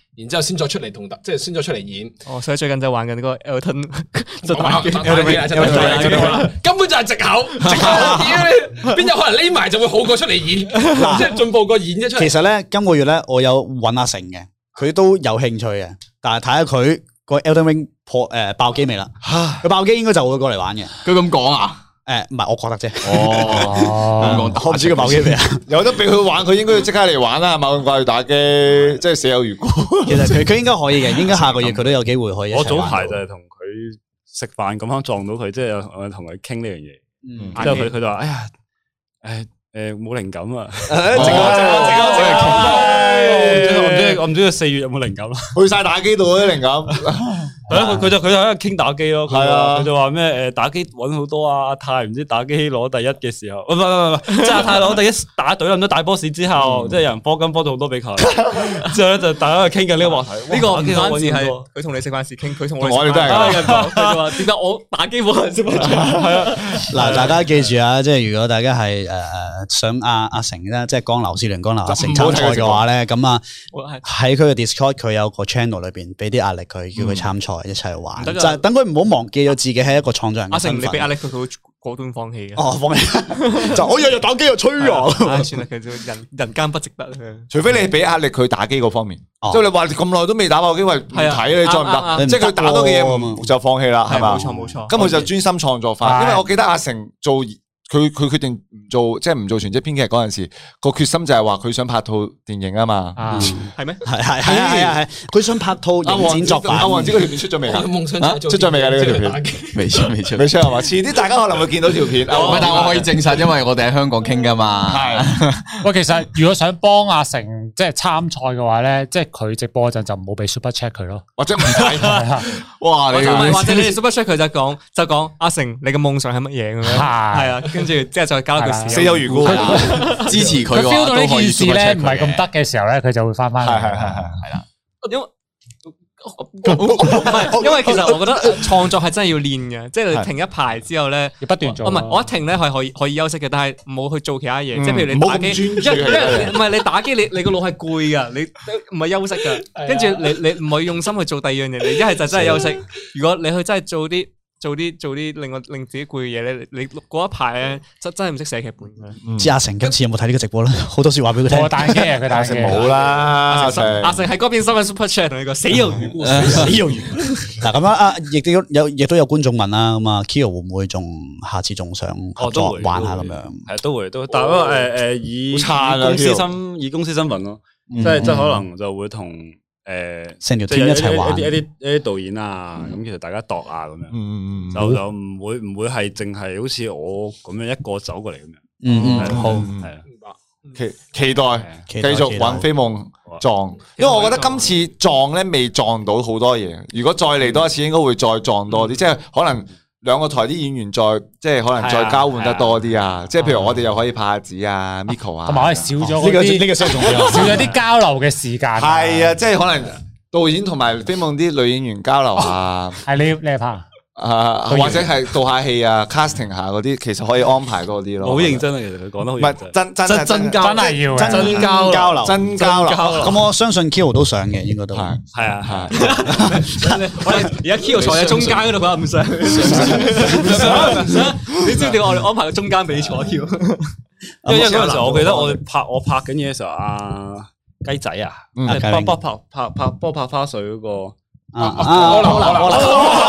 然之後先再出嚟同即係先再出嚟演。 哦，所以最近就玩緊嗰個 Elton 就打機，根本就係藉口，藉口。屌你，邊有可能匿埋就會好過出嚟演？即係進步過演啫出嚟。 其實咧，今個月咧，我有揾阿成嘅，佢都有興趣嘅，但係睇下佢個 Elden Ring 破誒爆機未啦？佢爆機應該就會過嚟玩嘅。 佢咁講啊？ 誒，唔係，我覺得啫。 哦， 我唔知佢爆機未啊？ 有得俾佢玩，佢應該要即刻嚟玩啦，係嘛？咁掛住打機，即係死有餘辜。 其實佢佢應該可以嘅，應該下個月佢都有機會可以。 我早排就係同佢食飯咁樣撞到佢，即係我同佢傾呢樣嘢。之後佢佢就話：哎呀，誒誒冇靈感啊！靜啊靜啊靜啊靜啊！我唔知我唔知佢四月有冇靈感啦。 去晒打機度嗰啲靈感。 係啊，佢就佢就喺度傾打機咯。 係啊， 佢就話咩誒打機揾好多啊！阿泰唔知打機攞第一嘅時候，唔係唔係唔係，即係阿泰攞第一打隊冧咗大 boss 之後，即係有人科金科咗好多俾佢。之後咧就大家去傾緊呢個話題。 呢個唔單止係佢同你食飯時傾，佢同我哋都係咁。 佢就話點解我打機冇人識乜？ 係啊， 嗱，大家記住啊，即係如果大家係誒誒想阿阿成咧，即係江流思聯江流阿成參賽嘅話咧，咁啊喺佢嘅 Discord 佢有個 channel 裏邊俾啲壓力佢，叫佢參賽一齊玩。就係等佢唔好忘記咗自己係一個創作人。 阿成，你俾壓力佢，佢會果斷放棄嘅。 哦，放棄就我日日打機又吹啊！ 算啦，佢就人人間不值得。 除非你俾壓力佢打機嗰方面，即係你話咁耐都未打爆機，喂唔睇你再唔得，即係佢打多嘅嘢就放棄啦，係嘛？ 冇錯冇錯。 咁佢就專心創作翻，因為我記得阿成做。佢佢決定唔做，即係唔做全職編劇嗰陣時，個決心就係話佢想拍套電影啊嘛。 係咩？ 係係係係係，佢想拍套影展作品。 阿王子嗰條片出咗未啊？ 夢想出咗未啊？呢個條片未出未出未出係嘛？遲啲大家可能會見到條片。 唔係，但我可以證實，因為我哋喺香港傾噶嘛。 係。喂，其實如果想幫阿成即係參賽嘅話咧，即係佢直播嗰陣就唔好俾 super check 佢咯， 或者唔睇。 哇！你或者你哋 super check 佢就講就講阿成，你嘅夢想係乜嘢咁樣？係啊。跟住之後再交一句死有餘辜， 支持佢。 佢 feel 到呢件事咧唔係咁得嘅時候咧，佢就會翻翻嚟。 係係係係啦， 因為唔係，因為其實我覺得創作係真係要練嘅，即係你停一排之後咧， 要不斷做。 唔係，我一停咧係可以可以休息嘅，但係唔好去做其他嘢。即係譬如你打機，唔係你打機，你你個腦係攰噶，你唔係休息噶。跟住你你唔可以用心去做第二樣嘢，你一係就真係休息。如果你去真係做啲。做啲做啲令我令自己攰嘅嘢咧，你嗰一排咧真真係唔識寫劇本嘅。 知阿成今次有冇睇呢個直播咧？好多說話俾佢聽。 我打機啊，佢打機冇啦。阿成阿成喺嗰邊新聞 super chat 同你講死有餘辜，死有餘。 嗱咁樣啊，亦都有亦都有觀眾問啦。咁啊 Kyo 會唔會仲下次仲想合作玩下咁樣？ 係都會都，但係不過誒誒以公司身以公司身份咯，即係即係可能就會同。誒， 成條 team 一齊玩一啲一啲一啲導演啊，咁其實大家度啊咁樣，就就唔會唔會係淨係好似我咁樣一個走過嚟咁樣。 嗯嗯，好係啊， 期期待繼續玩飛夢撞，因為我覺得今次撞咧未撞到好多嘢，如果再嚟多一次，應該會再撞多啲，即係可能。兩個台啲演員再即係可能再交換得多啲啊！即係譬如我哋又可以拍下子啊 Miko 啊， 同埋我哋少咗呢個呢個相重要， 少咗啲交流嘅時間。 係啊，即係可能導演同埋飛夢啲女演員交流下。 係你你係拍啊，或者係導下戲啊 casting 下嗰啲，其實可以安排多啲咯。 好認真啊，其實佢講得好認真。 真真真真交真係要真交流真交流。 咁我相信 Kyo 都想嘅，應該都係係啊係。 我哋而家 Kyo 坐喺中間嗰度，佢話唔想唔想唔想。你知唔知我哋安排個中間俾你坐 Kyo？ 因為嗰陣時我記得我哋拍我拍緊嘢嘅時候，阿雞仔啊，波波拍拍拍波拍花絮嗰個。 啊啊！好啦好啦好啦，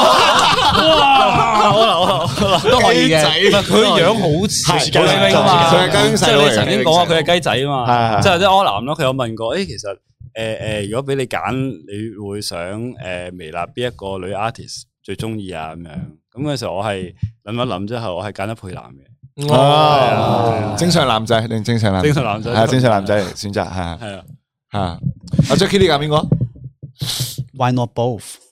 好啦好啦，都可以嘅。 佢樣好似雞仔啊嘛， 佢係雞仔佬嚟嘅。 即係你曾經講過佢係雞仔啊嘛，即係即係柯南咯。佢有問過，誒，其實誒誒，如果俾你揀，你會想誒微辣邊一個女 artist 最中意啊？咁樣咁嗰時候我係諗一諗之後，我係揀咗佩蘭嘅。 哦，正常男仔定正常男？ 正常男仔係正常男仔嚟選擇係係啊吓。阿 Jackie 你揀邊個？ Why not both？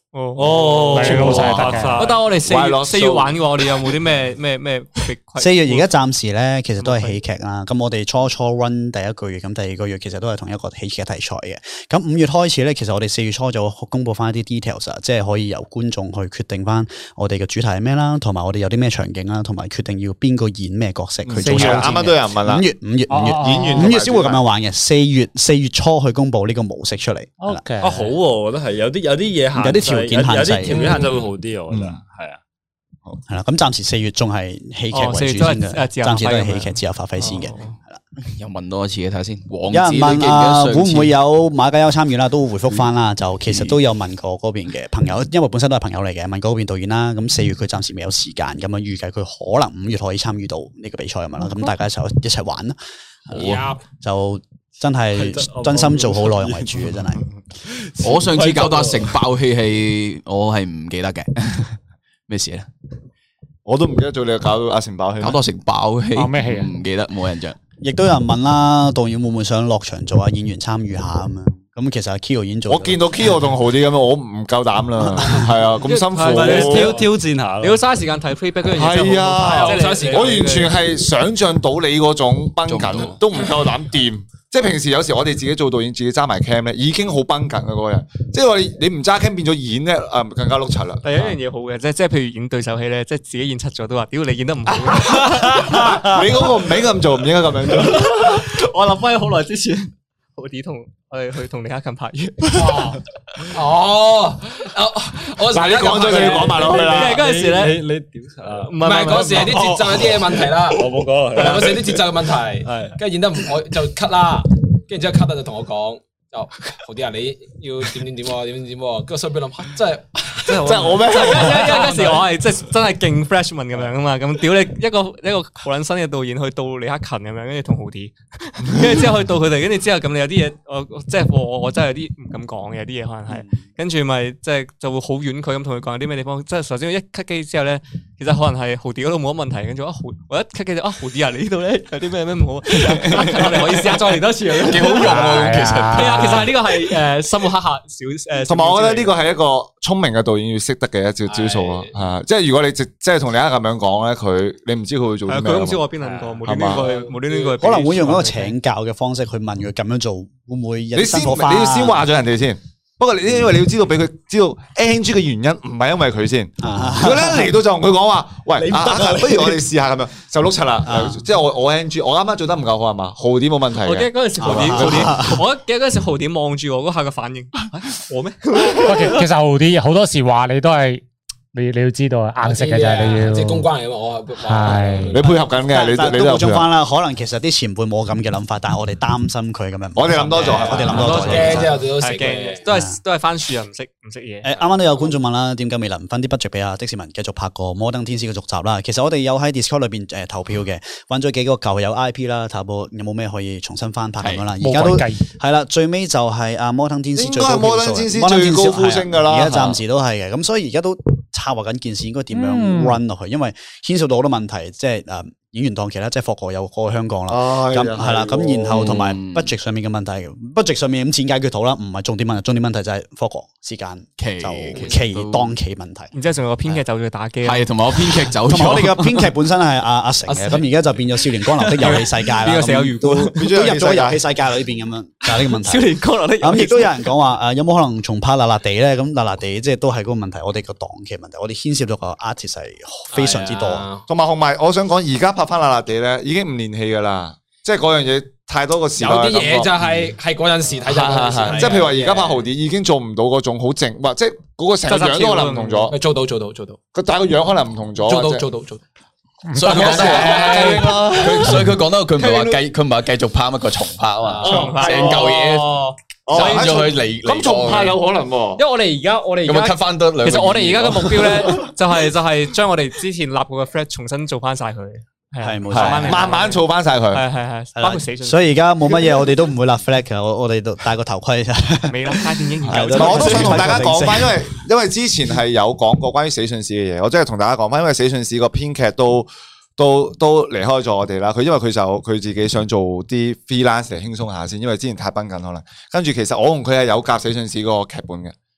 哦哦， 全部晒得嘅。 但係我哋四快樂月四月玩嘅話，我哋有冇啲咩咩咩？ 四月而家暫時咧，其實都係喜劇啦。咁我哋初初 run 第一個月，咁第二個月其實都係同一個喜劇題材嘅。咁五月開始咧，其實我哋四月初就公布翻一啲 details 啊，即係可以由觀眾去決定翻我哋嘅主題係咩啦，同埋我哋有啲咩場景啦，同埋決定要邊個演咩角色去做。 啱啱都有人問啦。 五月五月五月演員五月先會咁樣玩嘅。四月四月初去公布呢個模式出嚟。 OK 啊好喎，我覺得係有啲有啲嘢限， 有啲條件限制， 有啲條件限制會好啲，我覺得係啊。 係啦，咁暫時四月仲係喜劇為主先嘅，暫時都係喜劇自由發揮先嘅。係啦， 又問多一次嘅睇下先。有人問啊，會唔會有馬介休參與啦？都會回覆翻啦。就其實都有問過嗰邊嘅朋友，因為本身都係朋友嚟嘅，問過嗰邊導演啦。咁四月佢暫時未有時間，咁樣預計佢可能五月可以參與到呢個比賽咁樣啦。咁大家就一齊玩啦。好，就真係真心做好內容為主嘅，真係。 我上次搞到阿成爆氣係，我係唔記得嘅。咩事咧？ 我都唔記得咗，你搞到阿成爆氣， 搞到成爆氣， 爆咩氣啊？ 唔記得，冇印象。 亦都有人問啦，導演會唔會想落場做下演員參與下咁樣？咁其實阿 Kyo 已經做。 我見到 Kyo 仲好啲咁樣，我唔夠膽啦。係啊，咁辛苦， 挑挑戰下。 你要嘥時間睇 playback 嗰樣嘢。 係啊， 我完全係想象到你嗰種繃緊，都唔夠膽掂。即係平時有時我哋自己做導演，自己揸埋 cam 咧，已經好繃緊嘅嗰個人。即係話你你唔揸 cam 變咗演咧，誒更加碌柒啦。 但有一樣嘢好嘅，即係即係譬如演對手戲咧，即係自己演七咗都話，屌你演得唔好。 你嗰個唔應該咁做，唔應該咁樣做。 我諗翻好耐之前，豪啲同我哋去同李克勤拍嘢。 哦，我嗱你講咗就要講埋落去啦。 嗰陣時咧， 你你屌唔唔係嗰時係啲節奏有啲嘢問題啦。 我冇講， 係嗰時啲節奏嘅問題，跟住演得唔好就 cut 啦，跟住之後 cut 就同我講。就好啲啊！你要點點點喎，點點點喎，跟住所以俾諗，真係真係真係我咩？因為嗰時我係即係真係勁 freshman 咁樣啊嘛，咁屌你一個一個好撚新嘅導演去到李克勤咁樣，跟住同豪啲，跟住之後去到佢哋，跟住之後咁你有啲嘢，我即係我我真係有啲唔敢講嘅，有啲嘢可能係，跟住咪即係就會好婉拒咁同佢講有啲咩地方，即係首先一 cut 機之後咧，其實可能係豪啲嗰度冇乜問題，跟住啊豪我一 cut 機就啊豪啲啊，你呢度咧有啲咩咩唔好，我哋可以試下再嚟多次，幾好用啊，其實。其實呢個係誒生活黑客小誒， 同埋我覺得呢個係一個聰明嘅導演要識得嘅一招招數咯，係即係如果你即係同你啱咁樣講咧，佢你唔知佢會做啲咩， 佢都唔知我邊諗過，無端端過去，無端端過去， 可能會用一個請教嘅方式去問佢咁樣做會唔會有辛苦花？ 你要先話咗人哋先。不過你因為你要知道俾佢知道 A N G 嘅原因唔係因為佢先，如果咧嚟到就同佢講話，喂，不如我哋試下咁樣，就碌柒啦。即係我我 A N G，我啱啱做得唔夠好係嘛？豪啲冇問題。 我記得嗰陣時豪啲，豪啲，我記得嗰陣時豪啲望住我嗰下嘅反應，我咩？ 其實豪啲好多時話你都係。你你要知道啊，硬食嘅就係你要， 即係公關嚟嘅嘛，我係你配合緊嘅，你你都補充翻啦。可能其實啲前輩冇咁嘅諗法，但係我哋擔心佢咁樣。 我哋諗多咗， 我哋諗多咗。 驚啫，我哋都食嘅， 都係都係番薯人唔識唔識嘢。 誒，啱啱都有觀眾問啦，點解未能分啲 budget 俾阿的士文繼續拍個摩登天使嘅續集啦？其實我哋有喺 Discord 裏邊誒投票嘅，揾咗幾個舊有 I P 啦，睇下有冇咩可以重新翻拍咁樣啦。而家都係啦，最尾就係阿摩登天使最高票數，摩登天使最高呼聲㗎啦。而家暫時都係嘅，咁所以而家都策劃緊件事應該點樣 run 落去，因為牽涉到好多問題，即係誒演員檔期啦，即係霍哥有過香港啦，咁係啦，咁然後同埋 budget 上面嘅問題 ，budget 上面咁錢解決到啦，唔係重點問題，重點問題就係霍哥時間期就期檔期問題。 然之後仲有個編劇走咗去打機， 係同埋我編劇走咗， 同埋我哋嘅編劇本身係阿阿成嘅，咁而家就變咗少年江流的遊戲世界啦， 邊個有魚都都入咗遊戲世界裏邊咁樣，就係呢個問題。 少年江流的咁亦都有人講話誒，有冇可能重拍辣辣地咧？咁辣辣地即係都係嗰個問題，我哋個檔期問題，我哋牽涉到個 artist 係非常之多， 同埋同埋，我想講而家拍翻辣辣地咧。已經唔連戲噶啦，即係嗰樣嘢太多個時代。 有啲嘢就係係嗰陣時睇就， 即係譬如話而家拍豪啲已經做唔到嗰種好靜，或即係嗰個成個樣都可能唔同咗。 做到做到做到， 佢但係個樣可能唔同咗。 做到做到做到。 所以佢講得話，佢所以佢講得佢唔係話繼佢唔係話繼續拍乜個重拍啊嘛，成嚿嘢整咗佢嚟。 咁重拍有可能喎， 因為我哋而家我哋而家 cut 翻得兩。其實我哋而家嘅目標咧，就係就係將我哋之前立過嘅 flag 重新做翻晒佢。 係冇錯，慢慢做翻晒佢， 係係係，包括死。 所以而家冇乜嘢，我哋都唔會立 flag 嘅，我我哋都戴個頭盔啫。 未諗拍電影研究，我都想同大家講翻，因為因為之前係有講過關於死訊史嘅嘢，我真係同大家講翻，因為死訊史個編劇都都都離開咗我哋啦。佢因為佢就佢自己想做啲 freelance 嚟輕鬆下先，因為之前太繃緊可能。跟住其實我同佢係有夾死訊史個劇本嘅。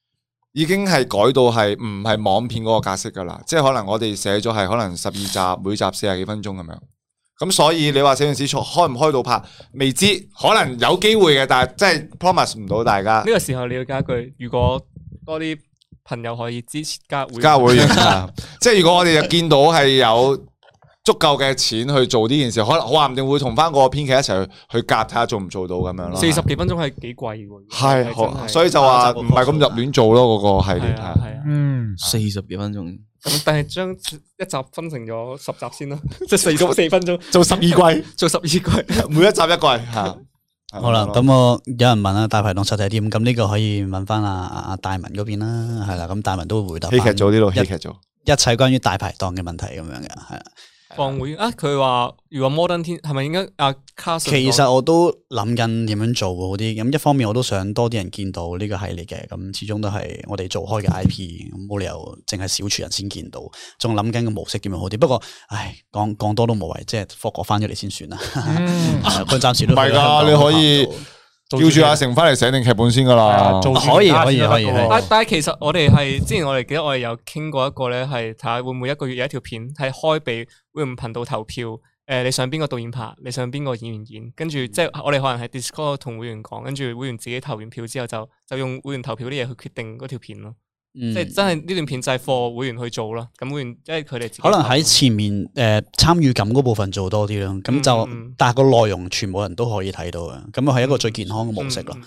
已經係改到係唔係網片嗰個格式噶啦，即係可能我哋寫咗係可能十二集，每集四十幾分鐘咁樣。咁所以你話寫完史開唔開到拍，未知，可能有機會嘅，但係真係 promise 唔到大家。呢個時候你要加一句，如果多啲朋友可以支持加會加會員啊！即係如果我哋就見到係有足夠嘅錢去做呢件事，可能話唔定會同翻個編劇一齊去去夾睇下做唔做到咁樣咯。 四十幾分鐘係幾貴喎？ 係，所以就話唔係咁入亂做咯，嗰個系列係。 嗯，四十幾分鐘。 咁但係將一集分成咗十集先啦，即係四十四分鐘做十二季， 做十二季， 每一集一季吓。 好啦，咁我有人問啦，大排檔實體店，咁呢個可以問翻阿阿大文嗰邊啦，係啦，咁大文都會回答。 戲劇組呢度，戲劇組一切關於大排檔嘅問題咁樣嘅，係啊。 放會啊！佢話如果 Modern 天係咪應該啊？ 其實我都諗緊點樣做好啲。咁一方面我都想多啲人見到呢個系列嘅。咁始終都係我哋做開嘅 I P，咁冇理由淨係小撮人先見到。仲諗緊個模式點樣好啲。不過唉，講講多都無謂，即係霍哥翻咗嚟先算啦。佢暫時都唔係㗎，你可以叫住阿成翻嚟寫定劇本先㗎啦。 可以可以可以。 但但係其實我哋係之前我哋記得我哋有傾過一個咧，係睇下會唔會一個月有一條片係開俾會員頻道投票。誒、呃，你想邊個導演拍？你想邊個演員演？跟住即係我哋可能係 Discord 同會員講，跟住會員自己投完票之後就就用會員投票啲嘢去決定嗰條片咯。嗯、即係真係呢段片就係 for 會員去做咯。咁會員即係佢哋可能喺前面誒參與感嗰部分做多啲咯。咁、嗯、就、嗯、但係個內容全部人都可以睇到嘅。咁係一個最健康嘅模式咯。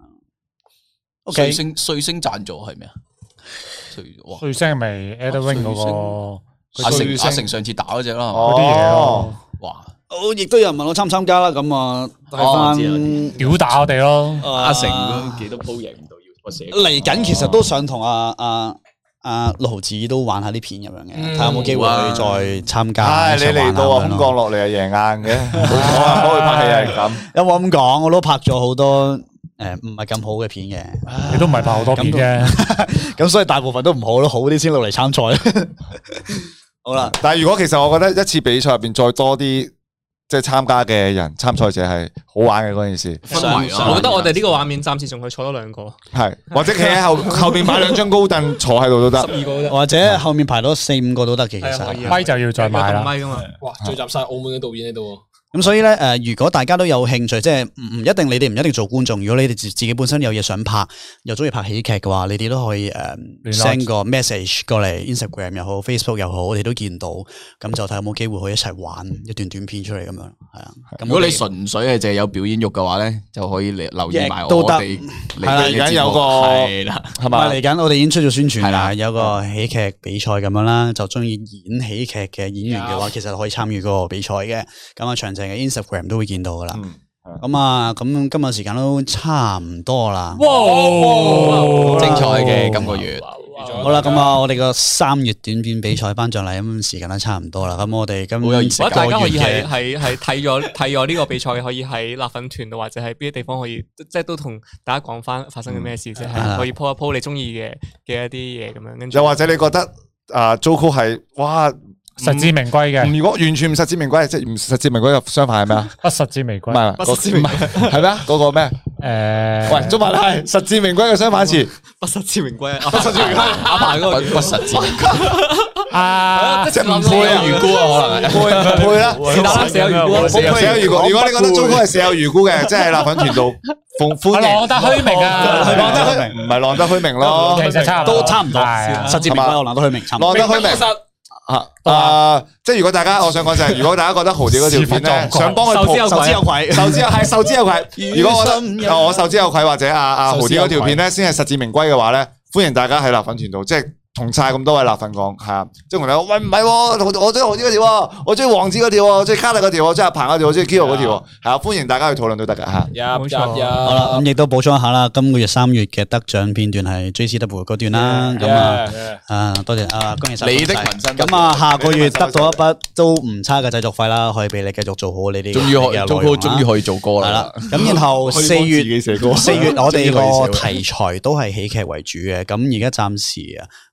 O K， 星瑞星贊助係咩啊？ 瑞星係咪 Edwin 嗰個？ 阿成阿成上次打嗰隻啦， 嗰啲嘢咯， 哇！ 我亦都有人問我參唔參加啦，咁啊，睇翻屌打我哋咯。 阿成都幾多鋪贏唔到，要我寫。 嚟緊其實都想同阿阿阿六毫子都玩下啲片咁樣嘅，睇下有冇機會去再參加。 唉，你嚟到啊，咁降落嚟啊，贏硬嘅。我啊，我去拍戲係咁。 有冇咁講？我都拍咗好多。誒，唔係咁好嘅片嘅， 你都唔係拍好多片嘅， 咁所以大部分都唔好咯，好啲先落嚟參賽。好啦， 但係如果其實我覺得一次比賽入邊再多啲即係參加嘅人參賽者係好玩嘅嗰件事。 我覺得我哋呢個畫面暫時仲可以坐多兩個， 係或者企喺後後邊買兩張高凳坐喺度都得， 十二個都得， 或者後面排多四五個都得嘅。其實咪就要再買啦。 哇，聚集晒澳門嘅導演喺度。 咁所以咧，誒，如果大家都有興趣，即係唔唔一定，你哋唔一定做觀眾。如果你哋自自己本身有嘢想拍，又中意拍喜劇嘅話，你哋都可以誒 send 個 message 過嚟 Instagram 又好 Facebook 又好，我哋都見到，咁就睇有冇機會可以一齊玩一段短片出嚟咁樣，係啊。 如果你純粹係淨係有表演欲嘅話咧，就可以嚟留意埋我哋。 係啦，而家有個係啦， 係嘛？嚟緊我哋已經出咗宣傳啦，有個喜劇比賽咁樣啦，就中意演喜劇嘅演員嘅話，其實可以參與嗰個比賽嘅。咁啊，詳情嘅 Instagram 都會見到噶啦。咁啊，咁今日時間都差唔多啦。 哇！精彩嘅今個月。 好啦，咁啊，我哋個三月短片比賽頒獎禮咁時間都差唔多啦。咁我哋今我覺得大家可以係係係睇咗睇咗呢個比賽，可以喺辣粉團度或者喺邊啲地方可以，即係都同大家講翻發生嘅咩事，即係可以 po 一 po 你中意嘅嘅一啲嘢咁樣。跟住又或者你覺得啊 Jojo 係哇？ 實至名歸嘅， 如果完全唔實至名歸，即係唔實至名歸嘅相反係咩啊？ 不實至名歸， 唔係不實至名歸係咩啊？嗰個咩？誒，喂，中文係實至名歸嘅相反詞， 不實至名歸， 不實至名歸， 阿爸嗰個不實至名歸啊， 即係唔配啊，預估啊，可能配唔配啦？ 是但啦，死有預估， 死有預估。如果你覺得 Jojo 係死有預估嘅，即係辣粉團度歡歡迎。 浪得虛名啊， 浪得虛名，唔係浪得虛名咯， 其實差都差唔多，實至名歸我浪得虛名，差唔多。 浪得虛名。啊，誒，即係如果大家，我想講就係，如果大家覺得豪屌嗰條片咧，想幫佢受之有愧，受之有愧， 受之有係受之有愧。如果我覺得我受之有愧，或者阿阿豪屌嗰條片咧，先係實至名歸嘅話咧，歡迎大家喺辣粉團度，即係同晒咁多位辣粉講，係啊，即係同你講，喂唔係，我中意豪屌嗰條，我中意王子嗰條，我中意卡特嗰條，我中意阿鵬嗰條，我中意 Kiro 嗰條，係啊，歡迎大家去討論都得噶吓。 冇錯， 好啦，咁亦都補充一下啦，今個月三月嘅得獎片段係 J C W 嗰段啦，咁啊，啊多謝啊，恭喜晒你的紋身， 咁啊下個月得到一筆都唔差嘅製作費啦，可以俾你繼續做好你哋。 終於可以，終於可以做歌啦。 係啦，咁然後四月四月我哋個題材都係喜劇為主嘅，咁而家暫時啊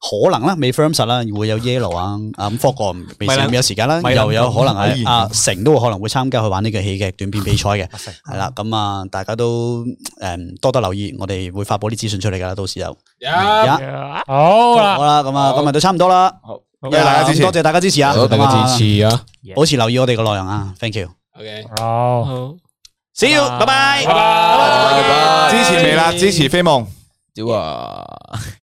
可能啦，未 firm 實啦，會有 Yellow 啊，啊咁霍哥未米蘭未有時間啦， 米蘭又有可能係米蘭阿成都會可能會參加去玩呢個喜劇短片比賽嘅，係啦，咁啊大家都誒多多留意，我哋會發布啲資訊出嚟噶啦，到時候。 好啦， 好啦，咁啊今日都差唔多啦， 好，多謝大家支持， 多謝大家支持啊， 多謝大家支持啊， 保持留意我哋嘅內容啊 ，thank you。 OK， 好。 好。 See you，拜拜， 拜拜。 支持未啦？支持飛夢。 屌啊！